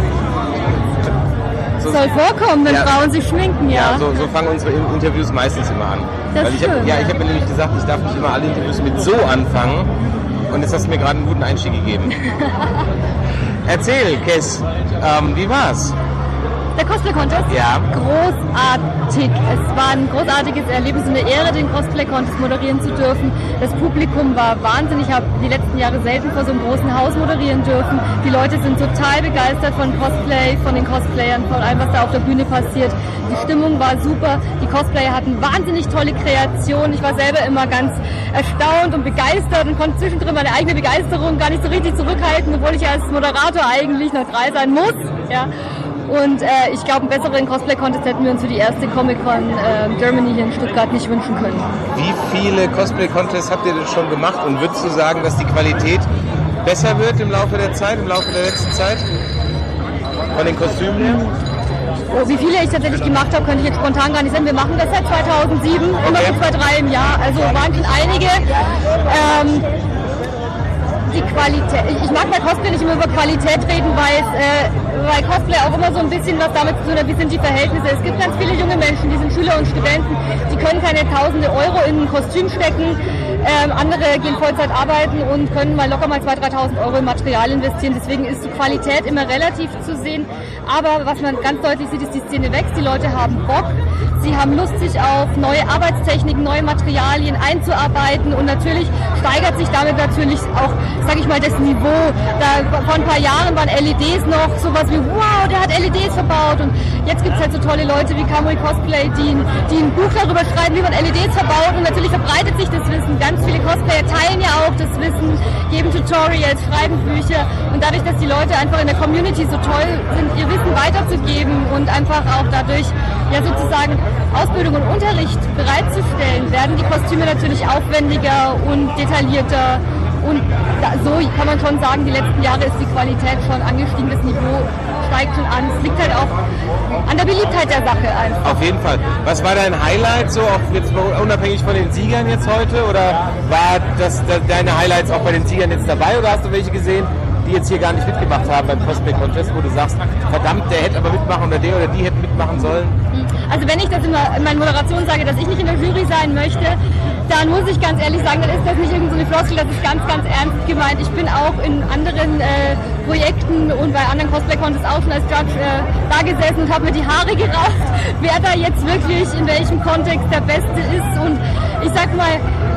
S2: So,
S21: soll vorkommen, wenn Frauen sich schminken, ja.
S2: Ja, so fangen unsere Interviews meistens immer an.
S21: Das
S2: ich habe mir nämlich gesagt, ich darf nicht immer alle Interviews mit so anfangen. Und jetzt hast du mir gerade einen guten Einstieg gegeben. Erzähl, Kes, wie war's?
S21: Der Cosplay-Contest?
S2: Ja.
S21: Großartig. Es war ein großartiges Erlebnis und eine Ehre, den Cosplay-Contest moderieren zu dürfen. Das Publikum war wahnsinnig. Ich habe die letzten Jahre selten vor so einem großen Haus moderieren dürfen. Die Leute sind total begeistert von Cosplay, von den Cosplayern, von allem, was da auf der Bühne passiert. Die Stimmung war super. Die Cosplayer hatten wahnsinnig tolle Kreationen. Ich war selber immer ganz erstaunt und begeistert und konnte zwischendrin meine eigene Begeisterung gar nicht so richtig zurückhalten, obwohl ich als Moderator eigentlich neutral sein muss. Ja. Und ich glaube, einen besseren Cosplay-Contest hätten wir uns für die erste Comic-Con Germany hier in Stuttgart nicht wünschen können.
S2: Wie viele Cosplay-Contests habt ihr denn schon gemacht? Und würdest du sagen, dass die Qualität besser wird im Laufe der Zeit, im Laufe der letzten Zeit? Von den Kostümen her?
S21: Oh, wie viele ich tatsächlich gemacht habe, könnte ich jetzt spontan gar nicht sagen. Wir machen das seit 2007, immer so 2-3 im Jahr. Also waren schon einige. Die Qualität. Ich mag bei Cosplay nicht immer über Qualität reden, weil Cosplay auch immer so ein bisschen was damit zu tun hat, wie sind die Verhältnisse. Es gibt ganz viele junge Menschen, die sind Schüler und Studenten, die können keine tausende Euro in ein Kostüm stecken. Andere gehen Vollzeit arbeiten und können mal locker mal 2.000, 3.000 Euro in Material investieren. Deswegen ist die Qualität immer relativ zu sehen. Aber was man ganz deutlich sieht, ist, die Szene wächst. Die Leute haben Bock. Sie haben Lust, sich auf neue Arbeitstechniken, neue Materialien einzuarbeiten. Und natürlich steigert sich damit natürlich auch, sag ich mal, das Niveau. Vor ein paar Jahren waren LEDs noch sowas wie, wow, der hat LEDs verbaut. Und jetzt gibt es halt so tolle Leute wie Kamui Cosplay, die ein Buch darüber schreiben, wie man LEDs verbaut. Und natürlich verbreitet sich das Wissen. Ganz viele Cosplayer teilen ja auch das Wissen, geben Tutorials, schreiben Bücher. Und dadurch, dass die Leute einfach in der Community so toll sind, ihr Wissen weiterzugeben und einfach auch dadurch ja sozusagen Ausbildung und Unterricht bereitzustellen, werden die Kostüme natürlich aufwendiger und detaillierter. Und so kann man schon sagen, die letzten Jahre ist die Qualität schon angestiegen, das Niveau steigt schon an. Es liegt halt auch an der Beliebtheit der Sache einfach.
S2: Auf jeden Fall. Was war dein Highlight, so auch jetzt unabhängig von den Siegern jetzt heute? Oder war deine Highlights auch bei den Siegern jetzt dabei oder hast du welche gesehen, die jetzt hier gar nicht mitgemacht haben beim Cosplay Contest, wo du sagst, verdammt, der hätte aber mitmachen oder der oder die hätte mitmachen sollen?
S21: Also wenn ich das immer in meinen Moderationen sage, dass ich nicht in der Jury sein möchte, dann muss ich ganz ehrlich sagen, dann ist das nicht irgendeine Floskel, das ist ganz, ganz ernst gemeint. Ich bin auch in anderen Projekten und bei anderen Cosplay-Contests auch schon als Judge da gesessen und habe mir die Haare gerauft, wer da jetzt wirklich in welchem Kontext der Beste ist. Und ich sag mal,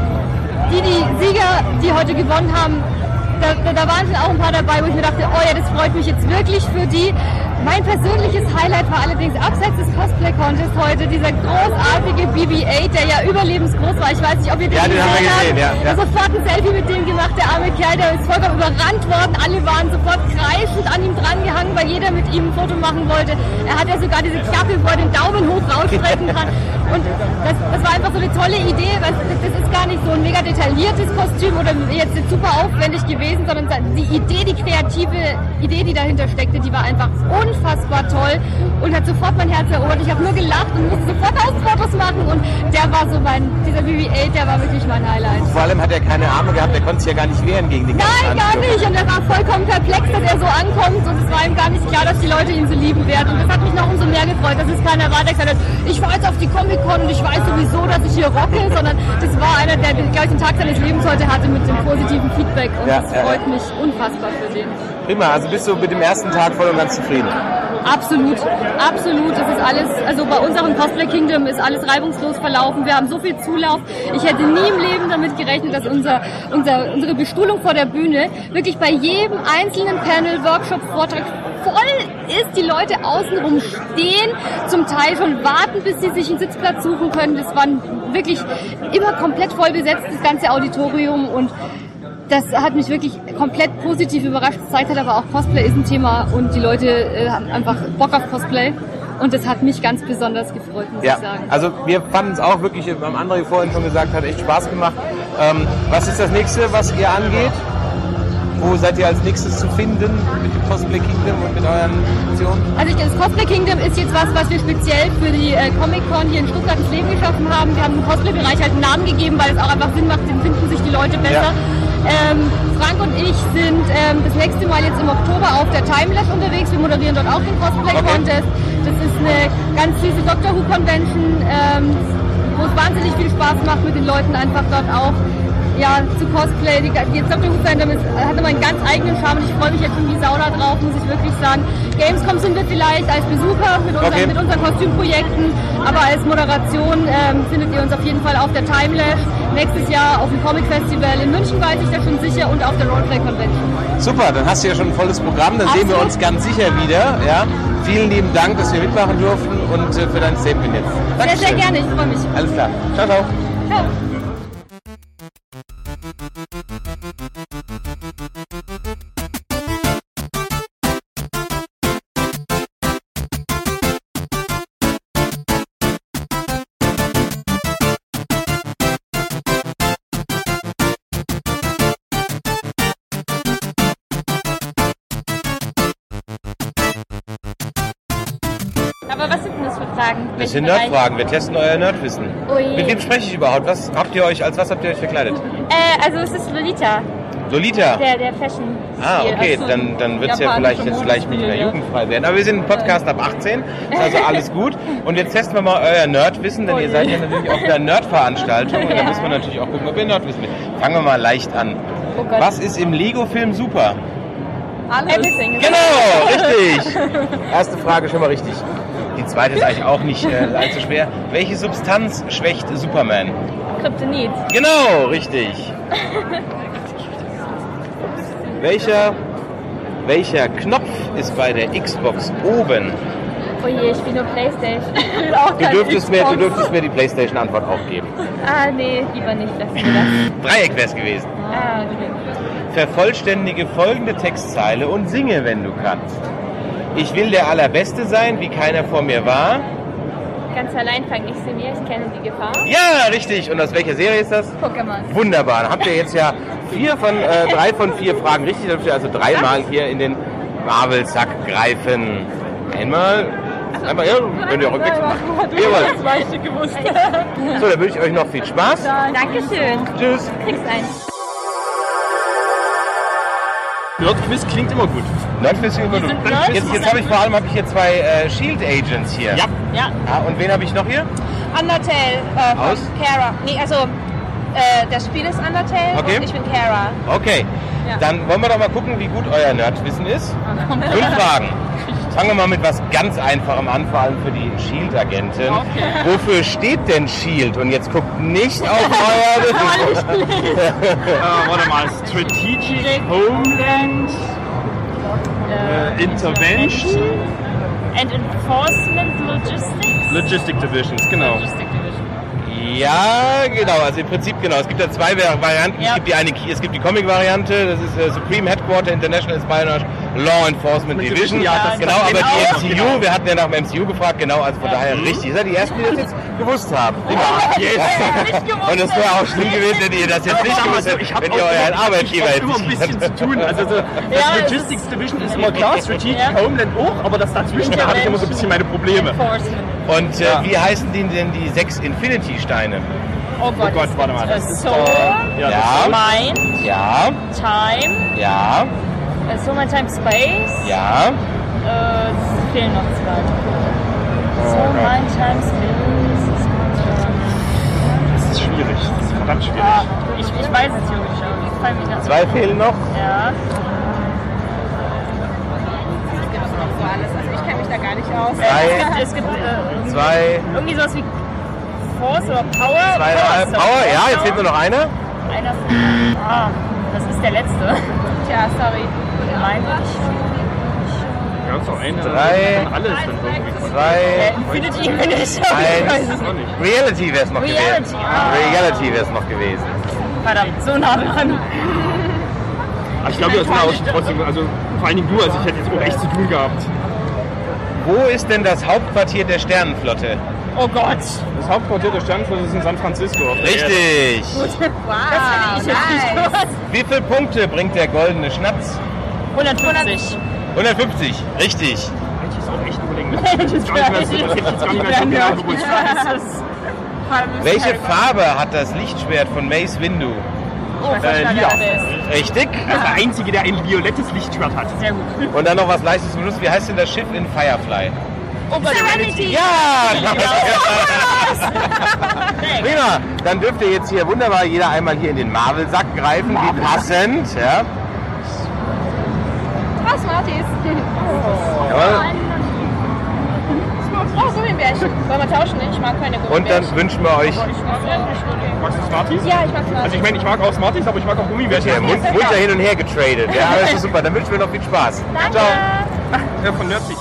S21: die Sieger, die heute gewonnen haben, da waren schon auch ein paar dabei, wo ich mir dachte, oh ja, das freut mich jetzt wirklich für die. Mein persönliches Highlight war allerdings abseits des Cosplay-Contests heute dieser großartige BB-8, der ja überlebensgroß war. Ich weiß nicht, ob ihr den gesehen habt. Sofort ein Selfie mit dem gemacht, der arme Kerl, der ist vollkommen überrannt worden. Alle waren sofort kreischend an ihm drangehangen, weil jeder mit ihm ein Foto machen wollte. Er hat ja sogar diese Klappe, wo er den Daumen hoch rausstrecken kann. Und das war einfach so eine tolle Idee, weil das ist gar nicht so ein mega detailliertes Kostüm oder jetzt super aufwendig gewesen, sondern die Idee, die kreative Idee, die dahinter steckte, die war einfach unfassbar toll und hat sofort mein Herz erobert. Ich habe nur gelacht und musste sofort Fotos machen und der war so dieser BB-8, der war wirklich mein Highlight.
S2: Vor allem hat er keine Arme gehabt, der konnte sich ja gar nicht wehren gegen den ganzen
S21: Nein, gar nicht. Und er war vollkommen perplex, dass er so ankommt und es war ihm gar nicht klar, dass die Leute ihn so lieben werden. Und das hat mich noch umso mehr gefreut, dass es keiner war, der gesagt hat, ich fahre jetzt auf die Comic-Con und ich weiß sowieso, dass ich hier rocke, sondern das war einer, der gleich den Tag seines Lebens heute hatte mit dem positiven Feedback und das freut mich unfassbar für den.
S2: Prima, also bist du mit dem ersten Tag voll und ganz zufrieden?
S21: Absolut, absolut. Das ist alles, also bei unserem Cosplay Kingdom ist alles reibungslos verlaufen. Wir haben so viel Zulauf. Ich hätte nie im Leben damit gerechnet, dass unsere Bestuhlung vor der Bühne wirklich bei jedem einzelnen Panel, Workshop, Vortrag voll ist. Die Leute außenrum stehen, zum Teil schon warten, bis sie sich einen Sitzplatz suchen können. Das war wirklich immer komplett voll besetzt, das ganze Auditorium, und das hat mich wirklich komplett positiv überrascht. Das zeigt halt aber auch, Cosplay ist ein Thema und die Leute haben einfach Bock auf Cosplay. Und das hat mich ganz besonders gefreut, muss ich sagen.
S2: Also wir fanden es auch wirklich, am André vorhin schon gesagt hat, echt Spaß gemacht. Was ist das nächste, was ihr angeht? Wo seid ihr als nächstes zu finden mit dem Cosplay Kingdom und mit euren Aktionen?
S21: Also das Cosplay Kingdom ist jetzt was wir speziell für die Comic-Con hier in Stuttgart ins Leben geschaffen haben. Wir haben dem Cosplay-Bereich halt einen Namen gegeben, weil es auch einfach Sinn macht, den finden sich die Leute besser. Frank und ich sind das nächste Mal jetzt im Oktober auf der Timelash unterwegs. Wir moderieren dort auch den Cosplay Contest. Das ist eine ganz süße Doctor Who Convention, wo es wahnsinnig viel Spaß macht, mit den Leuten einfach dort auch zu Cosplay. Die Doctor Who Fandom hat immer einen ganz eigenen Charme und ich freue mich jetzt schon wie Sau da drauf, muss ich wirklich sagen. Gamescom sind wir vielleicht als Besucher mit unseren Kostümprojekten, aber als Moderation findet ihr uns auf jeden Fall auf der Timelash. Nächstes Jahr auf dem Comic Festival in München, weiß ich da schon sicher, und auf der Roleplay Convention.
S2: Super, dann hast du ja schon ein volles Programm, dann sehen wir uns ganz sicher wieder. Ja? Vielen lieben Dank, dass wir mitmachen durften und für dein Statement jetzt. Dankeschön.
S21: Sehr, sehr gerne, ich freue mich.
S2: Alles klar. Ciao, ciao.
S21: Ciao. Aber was sind denn das für Fragen?
S2: Das sind Nerdfragen. Wir testen euer Nerdwissen.
S21: Ui.
S2: Mit wem spreche ich überhaupt? Als was habt ihr euch verkleidet?
S21: Also es ist Lolita.
S2: Lolita?
S21: Der Fashion.
S2: Ah, okay, dann wird es ja vielleicht jetzt gleich nicht mehr jugendfrei werden. Aber wir sind ein Podcast ab 18, ist also alles gut. Und jetzt testen wir mal euer Nerdwissen, denn ihr seid ja natürlich auf einer Nerdveranstaltung und da müssen wir natürlich auch gucken, ob ihr Nerdwissen habt. Fangen wir mal leicht an.
S21: Oh Gott.
S2: Was ist im Lego-Film super?
S21: Alles. Everything.
S2: Genau, richtig. Erste Frage schon mal richtig. Die zweite ist eigentlich auch nicht allzu schwer. Welche Substanz schwächt Superman?
S21: Kryptonit.
S2: Genau, richtig. Welcher Knopf ist bei der Xbox oben?
S21: Oh je, ich bin nur Playstation.
S2: Du dürftest mir die Playstation-Antwort auch geben.
S21: Ah, nee, lieber nicht. Lass mir das.
S2: Dreieck wär's gewesen.
S21: Ah, okay.
S2: Vervollständige folgende Textzeile und singe, wenn du kannst. Ich will der Allerbeste sein, wie keiner vor mir war.
S21: Ganz allein fange ich sie mir, ich kenne die Gefahr.
S2: Ja, richtig. Und aus welcher Serie ist das?
S21: Pokémon.
S2: Wunderbar. Dann habt ihr jetzt ja 3 von 4 Fragen richtig. Dann dürft ihr also 3-mal hier in den Marvel-Sack greifen. Einmal, ja, könnt ihr auch rückwärts machen. Jawohl. So, dann wünsche ich euch noch viel Spaß.
S21: Dankeschön.
S2: Tschüss.
S21: Kriegst einen.
S15: Nerdquiz klingt immer gut.
S2: Nerdquiz klingt immer gut. Jetzt habe ich vor allem hier zwei Shield Agents hier.
S5: Ja.
S2: Und wen habe ich noch hier?
S5: Undertale
S2: Aus?
S5: von Kara. Nee, also das Spiel ist Undertale und ich bin Kara.
S2: Okay, dann wollen wir doch mal gucken, wie gut euer Nerdwissen ist. 5 Fragen. Fangen wir mal mit was ganz Einfachem an, vor allem für die Shield-Agenten. Okay. Wofür steht denn Shield? Und jetzt guckt nicht auf euer...
S15: Warte mal, Strategic Homeland Intervention
S21: and Enforcement Logistics?
S2: Logistic Divisions, genau.
S21: Logistic Division.
S2: Ja, genau, also im Prinzip genau. Es gibt da 2 Varianten. Ja. Es gibt die Comic-Variante, das ist Supreme Headquarter International Espionage Law Enforcement Division. Ja, das genau, aber die MCU, genau. Wir hatten ja nach dem MCU gefragt, genau, also von daher richtig. Ihr seid die Ersten, die das jetzt gewusst haben. Und es wäre auch schlimm gewesen, wenn ihr das jetzt nicht gewusst hättet, wenn ihr euren Arbeitgeber hättet.
S15: Ich habe immer ein bisschen zu tun. Also das Logistics Division ist immer klar, Strategic Homeland auch, aber das dazwischen, da hatte ich immer so ein bisschen meine Probleme.
S2: Und wie heißen denn die 6 Infinity-Steine?
S21: Oh Gott,
S2: warte mal. Das ist
S21: Soul, Mind, Time, Soul, Mind, Time, Space.
S2: Ja.
S21: Es fehlen noch 2. Soul, Mind, Time, Space.
S15: Das ist schwierig. Das ist verdammt schwierig.
S21: Ich weiß es theoretisch auch.
S2: 2 fehlen noch?
S21: Ja.
S5: Also ich kenne mich da gar nicht aus.
S21: Es gibt
S2: 2.
S21: irgendwie sowas wie Force oder Power.
S2: 2,5 Power, ja, jetzt fehlt nur noch einer.
S21: Das ist der letzte.
S5: Tja, sorry.
S21: Mein
S15: Ja, ist doch eine.
S2: 3,
S15: alles dann irgendwie.
S2: 2,
S21: Infinity bin ich.
S2: 1. Reality wäre es noch gewesen. Reality wäre es noch gewesen.
S21: Verdammt, so nah dran.
S15: Ich glaube, das war auch trotzdem, also vor allen Dingen du, also ich hätte jetzt auch echt zu tun gehabt.
S2: Wo ist denn das Hauptquartier der Sternenflotte?
S21: Oh Gott.
S15: Das Hauptquartier der Sternenflotte ist in San Francisco.
S2: Richtig.
S21: Wow. Das finde ich jetzt nicht.
S2: Wie viele Punkte bringt der goldene Schnatz?
S21: 150.
S2: 150, richtig.
S15: Ich ist auch echt überlegen. Das hätte ich jetzt gar nicht mehr so genau gewusst.
S2: Welche Farbe hat das Lichtschwert von Mace Windu?
S15: Lila.
S2: Richtig.
S15: Das ist der Einzige, der ein violettes Lichtschwert hat.
S21: Sehr gut.
S2: Und dann noch was Leichtes zum Schluss. Wie heißt denn das Schiff in Firefly?
S21: Serenity.
S2: Ja! Prima. Dann dürft ihr jetzt hier wunderbar jeder einmal hier in den Marvel-Sack greifen. Wie passend. Ja.
S5: Smarties.
S2: Jawohl.
S5: Oh, Gummibärchen. Wollen wir tauschen? Ich mag keine Gummibärchen.
S2: Und dann wünschen wir euch...
S15: Magst du Smarties?
S5: Ja, ich mag Smarties.
S15: Also ich meine, ich mag auch Smarties, aber ich mag auch Gummibärchen.
S2: Okay, munter hin und her getradet. Ja, das ist super. Dann wünschen wir noch viel Spaß.
S5: Danke.
S15: Ciao. Von Nerdsich.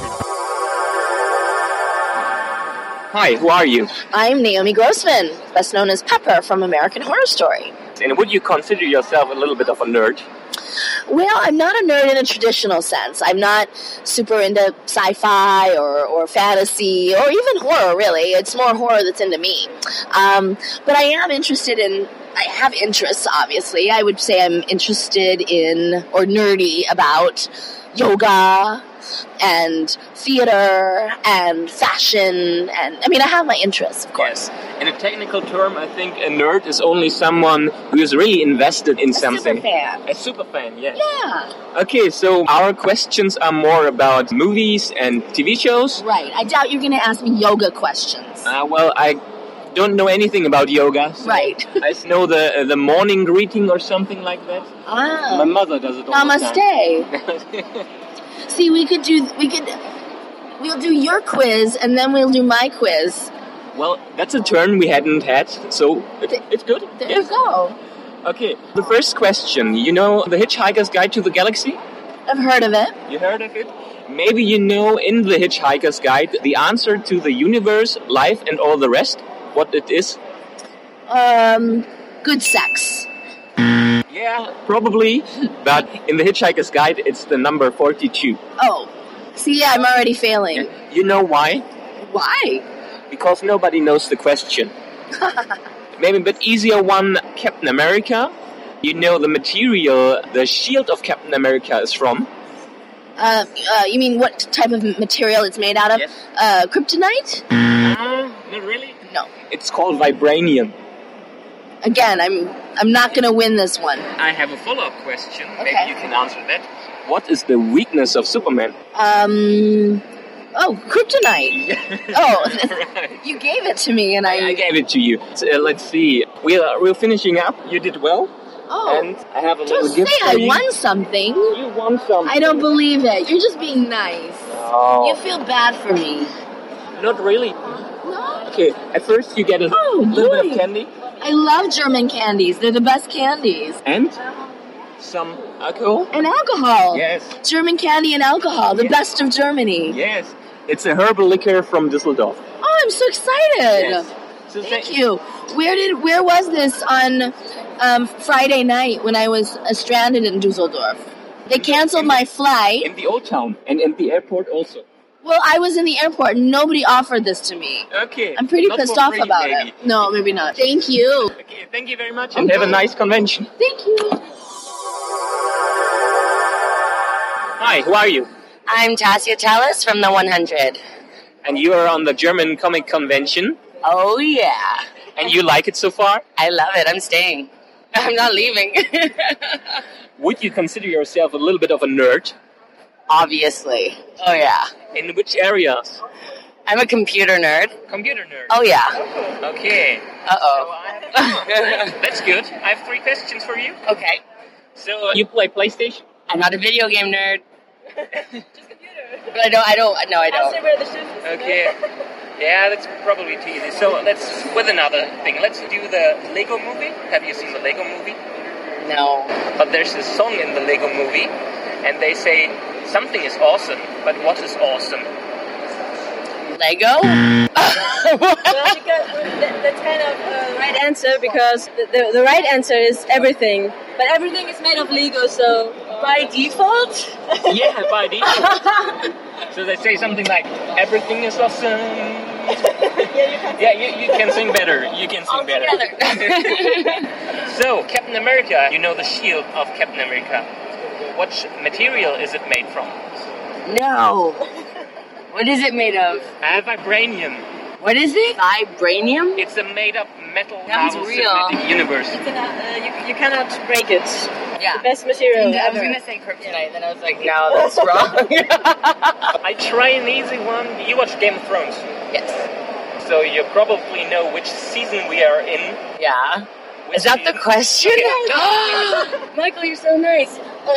S1: Hi, who are you?
S22: I'm Naomi Grossman, best known as Pepper from American Horror Story.
S1: And would you consider yourself a little bit of a nerd?
S22: Well, I'm not a nerd in a traditional sense. I'm not super into sci-fi or fantasy or even horror, really. It's more horror that's into me. But I am interested in... I have interests, obviously. I would say I'm interested in or nerdy about yoga and theater and fashion. And I mean, I have my interests, of course.
S1: Yes. In a technical term, I think a nerd is only someone who is really invested in something.
S22: Super fan.
S1: A super fan, yes.
S22: Yeah.
S1: Okay, so our questions are more about movies and TV shows.
S22: Right. I doubt you're going to ask me yoga questions.
S1: Well, I don't know anything about yoga. So
S22: right.
S1: I know the morning greeting or something like that.
S22: Ah.
S1: My mother does it all the time.
S22: Namaste. See, we'll do your quiz and then we'll do my quiz.
S1: Well, that's a turn we hadn't had, so it's good.
S22: There you go.
S1: Okay, the first question. You know The Hitchhiker's Guide to the Galaxy?
S22: I've heard of it.
S1: You heard of it? Maybe you know in The Hitchhiker's Guide the answer to the universe, life, and all the rest? What it is?
S22: Good sex.
S1: Yeah, probably. But in The Hitchhiker's Guide, it's the number 42.
S22: Oh. See, I'm already failing.
S1: You know why?
S22: Why?
S1: Because nobody knows the question. Maybe a bit easier one, Captain America. You know the material the shield of Captain America is from?
S22: You mean what type of material it's made out of?
S1: Yes.
S22: Kryptonite?
S1: Not really.
S22: No.
S1: It's called vibranium.
S22: Again, I'm not going to win this one.
S1: I have a follow-up question. Okay. Maybe you can answer that. What is the weakness of Superman?
S22: Kryptonite.
S1: Right.
S22: You gave it to me, and
S1: I gave it to you. So, let's see. We're finishing up. You did well.
S22: Oh.
S1: And I have a little
S22: Just
S1: gift
S22: say
S1: for
S22: I
S1: you.
S22: won something.
S1: You won something.
S22: I don't believe it. You're just being nice.
S1: Oh.
S22: You feel bad for me.
S1: Not really.
S22: No.
S1: Okay, at first you get a little bit of candy.
S22: I love German candies. They're the best candies.
S1: And some alcohol.
S22: And alcohol.
S1: Yes.
S22: German candy and alcohol. The best of Germany.
S1: Yes. It's a herbal liquor from Düsseldorf.
S22: Oh, I'm so excited.
S1: Yes. So
S22: Thank you. Where was this on Friday night when I was stranded in Düsseldorf? They canceled my flight.
S1: In the old town and in the airport also.
S22: Well, I was in the airport and nobody offered this to me.
S1: Okay.
S22: I'm pretty
S1: Not
S22: pissed
S1: for
S22: off
S1: free,
S22: about
S1: maybe.
S22: it. No, maybe not. Thank you.
S1: Okay, thank you very much and have a nice convention.
S22: Thank you.
S1: Hi, who are you?
S6: I'm Tassia Tellis from the 100.
S1: And you are on the German Comic Convention.
S6: Oh, yeah.
S1: And you like it so far?
S6: I love it. I'm staying. I'm not leaving.
S1: Would you consider yourself a little bit of a nerd?
S6: Obviously. Oh, yeah.
S1: In which areas?
S6: I'm a computer nerd.
S1: Computer nerd?
S6: Oh, yeah.
S1: Okay.
S6: Uh-oh.
S1: That's good. I have 3 questions for you.
S6: Okay.
S1: So, you play PlayStation?
S6: I'm not a video game nerd. But I don't.
S3: I'll say where the shoes is.
S1: Okay. Yeah, that's probably too easy. So let's with another thing. Let's do the Lego movie. Have you seen the Lego movie?
S6: No.
S1: But there's a song in the Lego movie, and they say something is awesome. But what is awesome?
S6: Lego?
S3: Well, because that's kind of the right answer, because the right answer is everything. But everything is made of Lego, so by default?
S1: Yeah, by default. So they say something like, everything is awesome. You can sing better. You can sing better. So, Captain America, you know the shield of Captain America. What material is it made from?
S6: No. What is it made of?
S1: Vibranium.
S6: What is it? Vibranium?
S1: It's a made-up metal
S6: Sounds
S1: Marvel
S6: real.
S1: Cinematic Universe.
S3: You cannot break it.
S6: Yeah.
S3: The best material
S6: I was
S3: ever.
S6: going to say kryptonite, then I was like, no, that's wrong.
S1: I try an easy one. You watch Game of Thrones?
S6: Yes.
S1: So you probably know which season we are in.
S6: Yeah. Is that the question? Michael, you're so nice.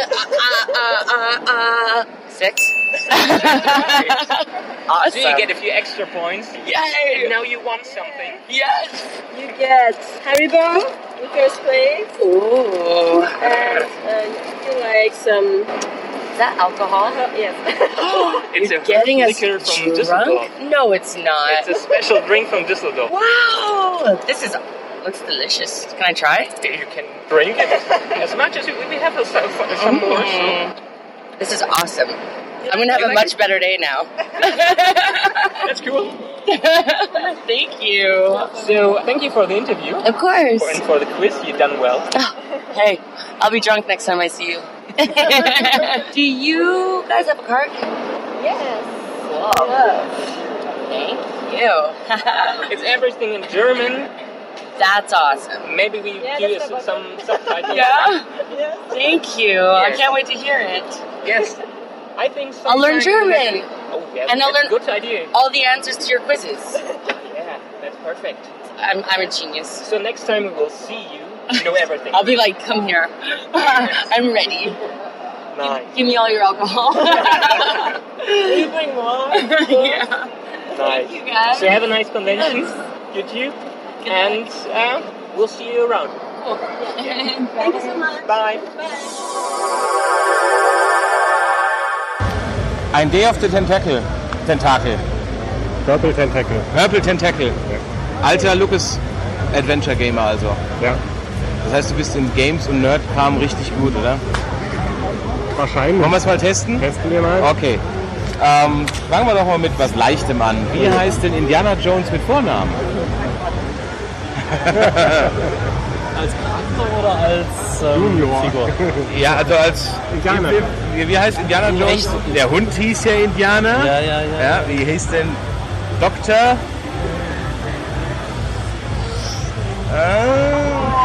S6: 6. Awesome.
S1: So you get a few extra points.
S6: Yay!
S1: And now you won something.
S6: Yes!
S3: You get Haribo in first place.
S6: Ooh.
S3: And you like some...
S6: Is that alcohol?
S3: Yes.
S1: It's
S6: You're
S1: a
S6: getting us
S1: liquor from
S6: drunk?
S1: Düsseldorf.
S6: No, it's not.
S1: It's a special drink from Düsseldorf.
S6: Wow! This looks delicious. Can I try?
S1: You can drink it as much as we have some more. So.
S6: This is awesome. I'm going to have a much better day now.
S1: That's cool.
S6: Thank you.
S1: So, thank you for the interview.
S6: Of course.
S1: And for the quiz, you've done well.
S6: Hey, I'll be drunk next time I see you. Do you guys have a cart?
S3: Yes.
S6: Whoa. Thank you.
S1: It's everything in German.
S6: That's awesome.
S1: Maybe we do some subtitles.
S6: Yeah? Thank you.
S1: Yes.
S6: I can't wait to hear it.
S1: Yes. I think
S6: I'll learn German.
S1: Oh, yes.
S6: And I'll learn
S1: good idea.
S6: all the answers to your quizzes.
S1: Yeah, that's perfect.
S6: I'm a genius.
S1: So next time we will see you, you know everything.
S6: I'll be like, come here. I'm ready.
S1: Nice.
S6: Give me all your alcohol.
S3: Will you bring more?
S6: Yeah.
S1: Nice.
S6: Thank you guys.
S1: So have a nice convention. You too. And we'll see you around.
S6: Cool.
S3: Thank you so much.
S1: Bye.
S2: Ein Day of the Tentacle.
S10: Purple Tentacle.
S2: Purple Tentacle.
S10: Ja.
S2: Alter Lucas Adventure Gamer also.
S10: Ja.
S2: Das heißt, du bist in Games und Nerdkram richtig gut, oder?
S10: Wahrscheinlich.
S2: Wollen wir es mal testen?
S10: Testen wir mal.
S2: Okay. Fangen wir doch mal mit was Leichtem an. Wie heißt denn Indiana Jones mit Vornamen?
S15: Als Charakter oder als Figur?
S2: Ja, also als
S10: Indianer.
S2: Wie heißt Indiana Jones? Der Hund hieß ja Indianer. Ja, wie hieß denn Doktor?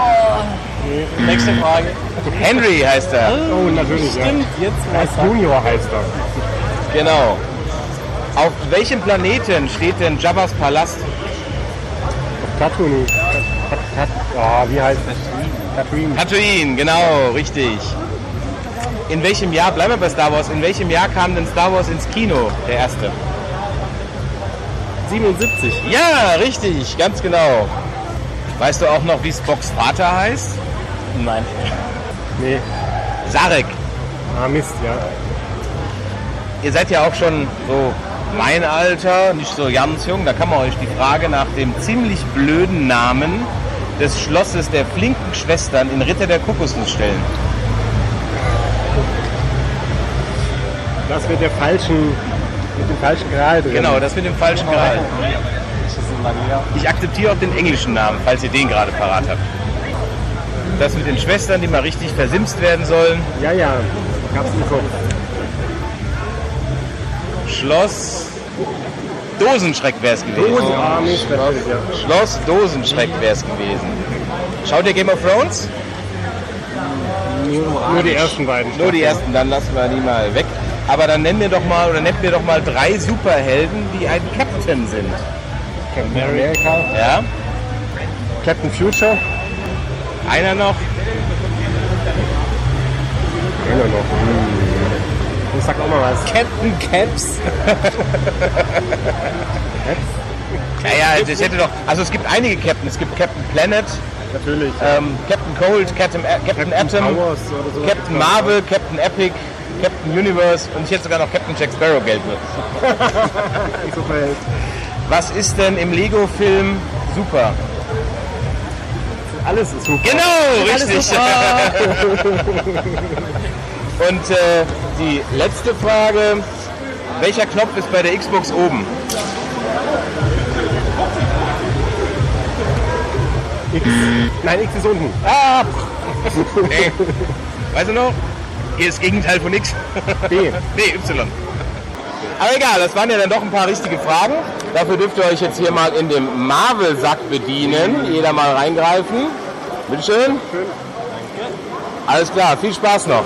S2: Nächste Frage. Henry heißt er.
S10: Oh, natürlich,
S15: Stimmt,
S10: ja.
S15: jetzt weiß
S10: Junior heißt er.
S2: Genau. Auf welchem Planeten steht denn Jabba's Palast?
S10: Tatooine. Wie heißt das? Tatooine.
S2: Tatooine, genau, richtig. In welchem Jahr, bleiben wir bei Star Wars, in welchem Jahr kam denn Star Wars ins Kino, der erste?
S15: 77.
S2: Ja, richtig, ganz genau. Weißt du auch noch, wie Spocks Vater heißt?
S15: Nein.
S10: Nee.
S2: Sarek.
S10: Mist, ja.
S2: Ihr seid ja auch schon so mein Alter, nicht so ganz jung. Da kann man euch die Frage nach dem ziemlich blöden Namen des Schlosses der flinken Schwestern in Ritter der Kokosnuss stellen.
S10: Das mit dem falschen Gral drin.
S2: Genau, das mit dem falschen Gral. Ich akzeptiere auch den englischen Namen, falls ihr den gerade parat habt. Das mit den Schwestern, die mal richtig versimst werden sollen.
S10: Ja, gab's im Kopf.
S2: Schloss Dosenschreck wäre es gewesen. Schloss Dosenschreck wäre es gewesen. Schaut ihr Game of Thrones?
S10: Nur die ersten beiden.
S2: Nur die ersten, dann lassen wir die mal weg. Aber dann nennt mir doch mal 3 Superhelden, die ein Captain sind.
S10: Captain America.
S2: Ja.
S10: Captain Future.
S2: Einer noch.
S10: Ich sag auch mal was.
S15: Captain Caps.
S2: Ja, das hätte doch. Also es gibt einige Captains. Es gibt Captain Planet.
S10: Natürlich.
S2: Captain Cold, Captain Atom,
S10: Powers oder so.
S2: Captain Marvel, Captain Epic, Captain Universe und ich hätte sogar noch Captain Jack Sparrow Geld mit.
S10: Superheld.
S2: Was ist denn im Lego-Film super?
S10: Alles ist super.
S2: Genau,
S10: Alles
S2: richtig. Und die letzte Frage. Welcher Knopf ist bei der Xbox oben?
S10: X. Nein, X ist unten.
S2: Ah! Nee. Weißt du noch? Hier ist das Gegenteil von X.
S10: B.
S2: Nee, Y. Aber egal, das waren ja dann doch ein paar richtige Fragen. Dafür dürft ihr euch jetzt hier mal in dem Marvel-Sack bedienen. Jeder mal reingreifen. Bitteschön. Alles klar, viel Spaß noch.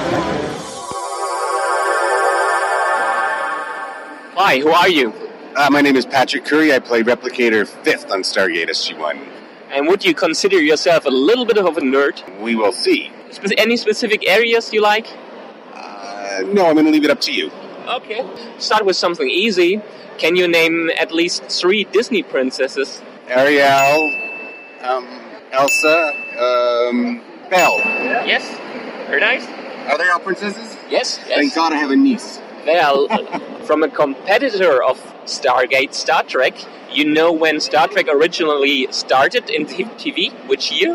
S1: Hi, who are you?
S11: My name is Patrick Curry. I play Replicator 5th on Stargate SG-1.
S1: And would you consider yourself a little bit of a nerd?
S11: We will see.
S1: Any specific areas you like?
S11: No, I'm going to leave it up to you.
S1: Okay. Start with something easy. Can you name at least 3 Disney princesses?
S11: Ariel, Elsa, Belle.
S1: Yes. Very nice.
S11: Are they all princesses?
S1: Yes.
S11: Thank God I have a niece.
S1: Well, from a competitor of Stargate, Star Trek, you know when Star Trek originally started in TV? Which year?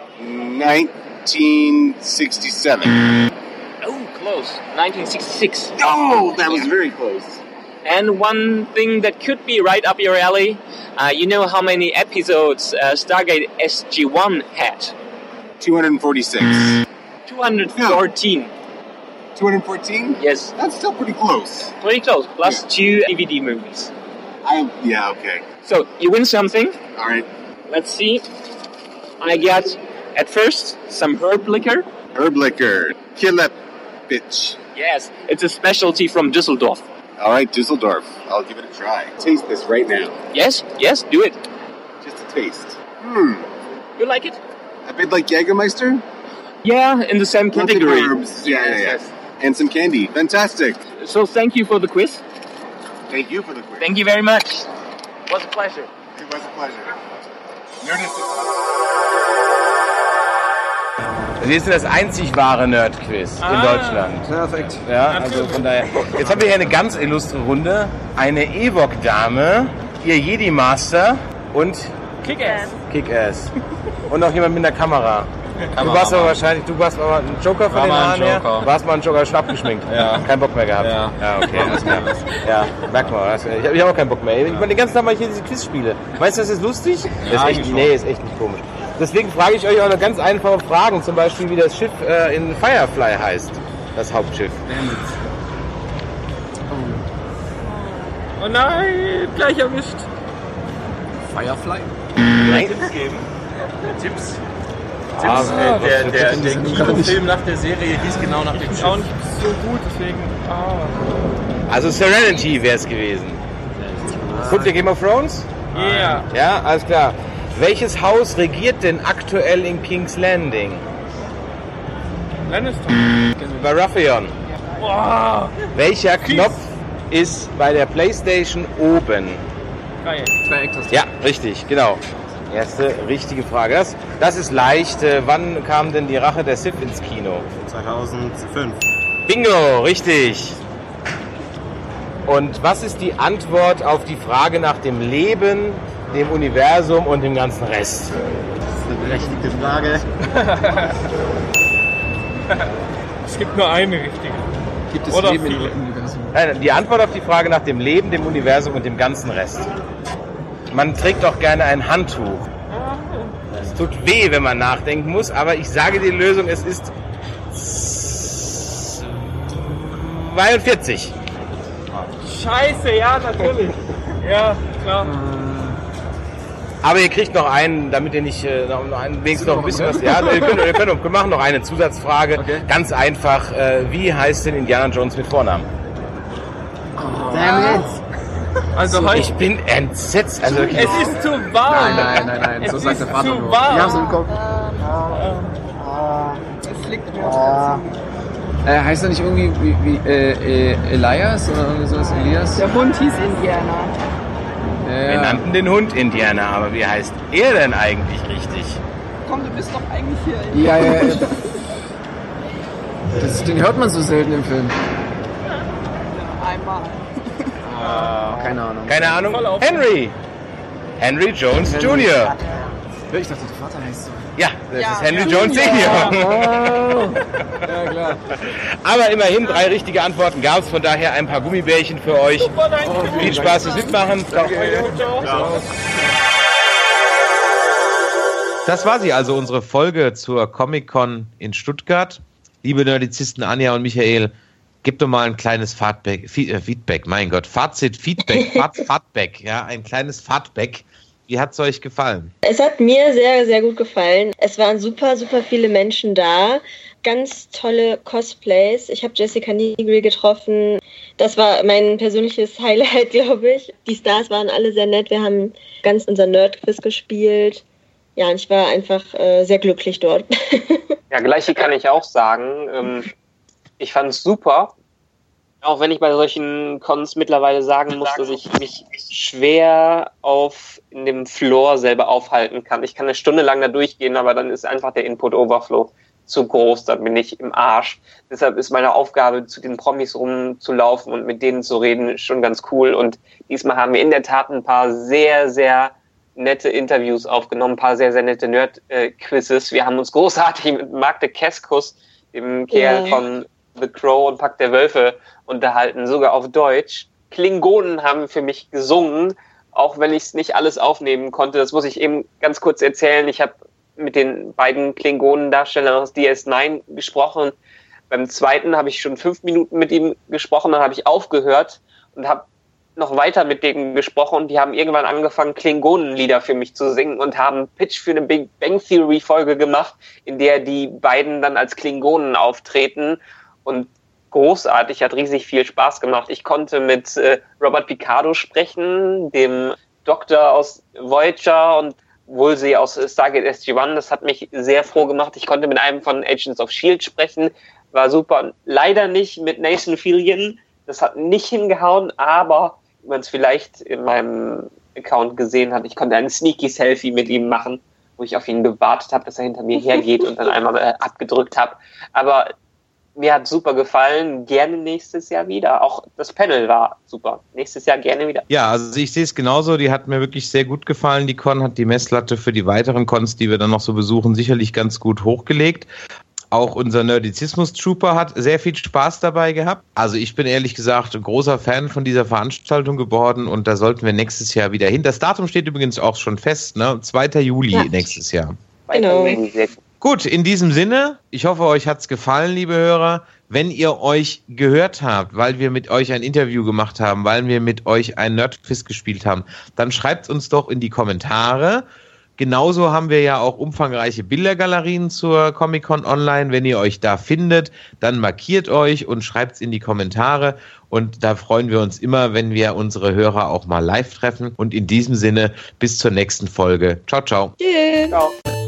S11: 1967.
S1: Oh, close. 1966.
S11: Oh, that was very close.
S1: And one thing that could be right up your alley, you know how many episodes Stargate SG-1 had?
S11: 246.
S1: 214.
S11: 214?
S1: Yes.
S11: That's still pretty close.
S1: Pretty close. Plus 2 DVD movies.
S11: Yeah, okay.
S1: So, you win something.
S11: All right.
S1: Let's see. I got, at first, some herb liquor.
S11: Herb liquor. Killer bitch.
S1: Yes, it's a specialty from Düsseldorf.
S11: All right, Düsseldorf. I'll give it a try. Taste this right now.
S1: Yes, do it.
S11: Just a taste.
S1: You like it?
S11: A bit like Jägermeister?
S1: Yeah, in the same category.
S11: Herbs. Yeah. And some candy. Fantastic.
S1: So thank you for the quiz.
S11: Thank you for the quiz.
S1: Thank you very much. It was a pleasure.
S11: It was a pleasure.
S2: Wir sind das einzig wahre Nerd-Quiz in Deutschland.
S16: Perfekt.
S2: Ja, also von daher. Jetzt haben wir hier eine ganz illustre Runde. Eine Ewok-Dame, ihr Jedi-Master und Kick-Ass. Und noch jemand mit einer Kamera. Du warst aber wahrscheinlich, du warst aber ein Joker von den Haaren her. Du warst mal ein Joker, schon abgeschminkt.
S15: Ja.
S2: Kein Bock mehr gehabt.
S15: Ja,
S2: okay, alles klar. Ja, merk mal. Ich habe auch keinen Bock mehr. Ich meine, den ganzen Tag mache ich hier diese Quizspiele. Meinst du, das ist lustig?
S15: Ja,
S2: ist echt nicht komisch. Deswegen frage ich euch auch noch ganz einfache Fragen. Zum Beispiel, wie das Schiff in Firefly heißt. Das Hauptschiff.
S15: Oh nein, gleich erwischt.
S17: Firefly?
S2: Nein.
S15: Tipps geben. Tipps.
S2: Der Kinofilm nach der Serie hieß genau nach dem Schiff.
S15: Auch nicht so gut, deswegen.
S2: Also Serenity wäre es gewesen. Guckt ihr Game of Thrones?
S15: Ja.
S2: Ja, alles klar. Welches Haus regiert denn aktuell in King's Landing?
S15: Lannister.
S2: Baratheon.
S15: Wow.
S2: Welcher Knopf ist bei der PlayStation oben?
S15: Dreieck.
S2: Ja, richtig, genau. Erste richtige Frage. Das ist leicht. Wann kam denn die Rache der Sith ins Kino?
S10: 2005.
S2: Bingo, richtig. Und was ist die Antwort auf die Frage nach dem Leben, dem Universum und dem ganzen Rest?
S10: Das ist eine berechtigte Frage.
S15: Es gibt nur eine richtige.
S17: Gibt es
S15: Oder
S17: Leben
S15: viele?
S17: im Universum?
S2: Nein, die Antwort auf die Frage nach dem Leben, dem Universum und dem ganzen Rest. Man trägt doch gerne ein Handtuch. Es tut weh, wenn man nachdenken muss, aber ich sage die Lösung, es ist 42.
S15: Scheiße, ja, natürlich. Ja, klar.
S2: Aber ihr kriegt noch einen, damit ihr nicht wenigstens noch ein bisschen was... Ja, wir machen noch eine Zusatzfrage. Okay. Ganz einfach, wie heißt denn Indiana Jones mit Vornamen?
S17: Damn it.
S15: Also
S2: ich bin entsetzt. Also,
S15: es ist zu warm.
S17: Nein. So sagt der Vater
S15: zu
S17: nur.
S15: warm.
S17: Ich hab's im Kopf.
S9: Es liegt mir
S17: Heißt er nicht irgendwie wie Elias oder irgendwie sowas? Elias?
S9: Der Hund hieß Indiana.
S2: Wir nannten den Hund Indiana, aber wie heißt er denn eigentlich richtig?
S9: Komm, du bist doch eigentlich hier.
S17: Ja. Den hört man so selten im Film.
S9: Einmal.
S17: Keine Ahnung.
S2: Henry Jones Jr.
S17: Ich dachte, der Vater heißt so.
S2: Ja, das ist Henry Jones Senior.
S17: Ja, klar.
S2: Aber immerhin 3 richtige Antworten gab es, von daher ein paar Gummibärchen für euch. Viel Spaß fürs Mitmachen. Das war sie also, unsere Folge zur Comic-Con in Stuttgart. Liebe Nerdizisten Anja und Michael, gebt doch mal ein kleines Feedback, mein Gott, Feedback, ja, ein kleines Feedback. Wie hat es euch gefallen?
S3: Es hat mir sehr, sehr gut gefallen. Es waren super, super viele Menschen da. Ganz tolle Cosplays. Ich habe Jessica Nigri getroffen. Das war mein persönliches Highlight, glaube ich. Die Stars waren alle sehr nett. Wir haben ganz unser Nerd-Quiz gespielt. Ja, und ich war einfach sehr glücklich dort.
S1: Ja, gleiche kann ich auch sagen. Ich fand es super. Auch wenn ich bei solchen Cons mittlerweile sagen muss, dass ich mich schwer in dem Floor selber aufhalten kann. Ich kann eine Stunde lang da durchgehen, aber dann ist einfach der Input-Overflow zu groß, dann bin ich im Arsch. Deshalb ist meine Aufgabe, zu den Promis rumzulaufen und mit denen zu reden, schon ganz cool. Und diesmal haben wir in der Tat ein paar sehr, sehr nette Interviews aufgenommen, ein paar sehr, sehr nette Nerd-Quizzes. Wir haben uns großartig mit Marc de Keskus, dem Kerl von The Crow und Pack der Wölfe, unterhalten, sogar auf Deutsch. Klingonen haben für mich gesungen, auch wenn ich es nicht alles aufnehmen konnte. Das muss ich eben ganz kurz erzählen. Ich habe mit den beiden Klingonen-Darstellern aus DS9 gesprochen. Beim zweiten habe ich schon 5 Minuten mit ihm gesprochen, dann habe ich aufgehört und habe noch weiter mit denen gesprochen und die haben irgendwann angefangen, Klingonenlieder für mich zu singen und haben einen Pitch für eine Big Bang Theory Folge gemacht, in der die beiden dann als Klingonen auftreten und großartig, hat riesig viel Spaß gemacht. Ich konnte mit Robert Picardo sprechen, dem Doktor aus Voyager und Woolsey aus Stargate SG-1. Das hat mich sehr froh gemacht. Ich konnte mit einem von Agents of S.H.I.E.L.D. sprechen. War super. Leider nicht mit Nathan Fillion. Das hat nicht hingehauen, aber wie man es vielleicht in meinem Account gesehen hat, ich konnte ein Sneaky-Selfie mit ihm machen, wo ich auf ihn gewartet habe, dass er hinter mir hergeht und dann einmal abgedrückt habe. Aber mir hat super gefallen, gerne nächstes Jahr wieder. Auch das Panel war super. Nächstes Jahr gerne wieder.
S2: Ja, also ich sehe es genauso. Die hat mir wirklich sehr gut gefallen. Die Con hat die Messlatte für die weiteren Cons, die wir dann noch so besuchen, sicherlich ganz gut hochgelegt. Auch unser Nerdizismus-Trooper hat sehr viel Spaß dabei gehabt. Also ich bin ehrlich gesagt ein großer Fan von dieser Veranstaltung geworden und da sollten wir nächstes Jahr wieder hin. Das Datum steht übrigens auch schon fest, ne? 2. Juli nächstes Jahr.
S3: Genau.
S2: Gut, in diesem Sinne, ich hoffe, euch hat's gefallen, liebe Hörer. Wenn ihr euch gehört habt, weil wir mit euch ein Interview gemacht haben, weil wir mit euch ein Nerdquiz gespielt haben, dann schreibt uns doch in die Kommentare. Genauso haben wir ja auch umfangreiche Bildergalerien zur Comic-Con online. Wenn ihr euch da findet, dann markiert euch und schreibt es in die Kommentare. Und da freuen wir uns immer, wenn wir unsere Hörer auch mal live treffen. Und in diesem Sinne, bis zur nächsten Folge. Ciao, ciao.
S3: Tschüss.
S1: Ciao.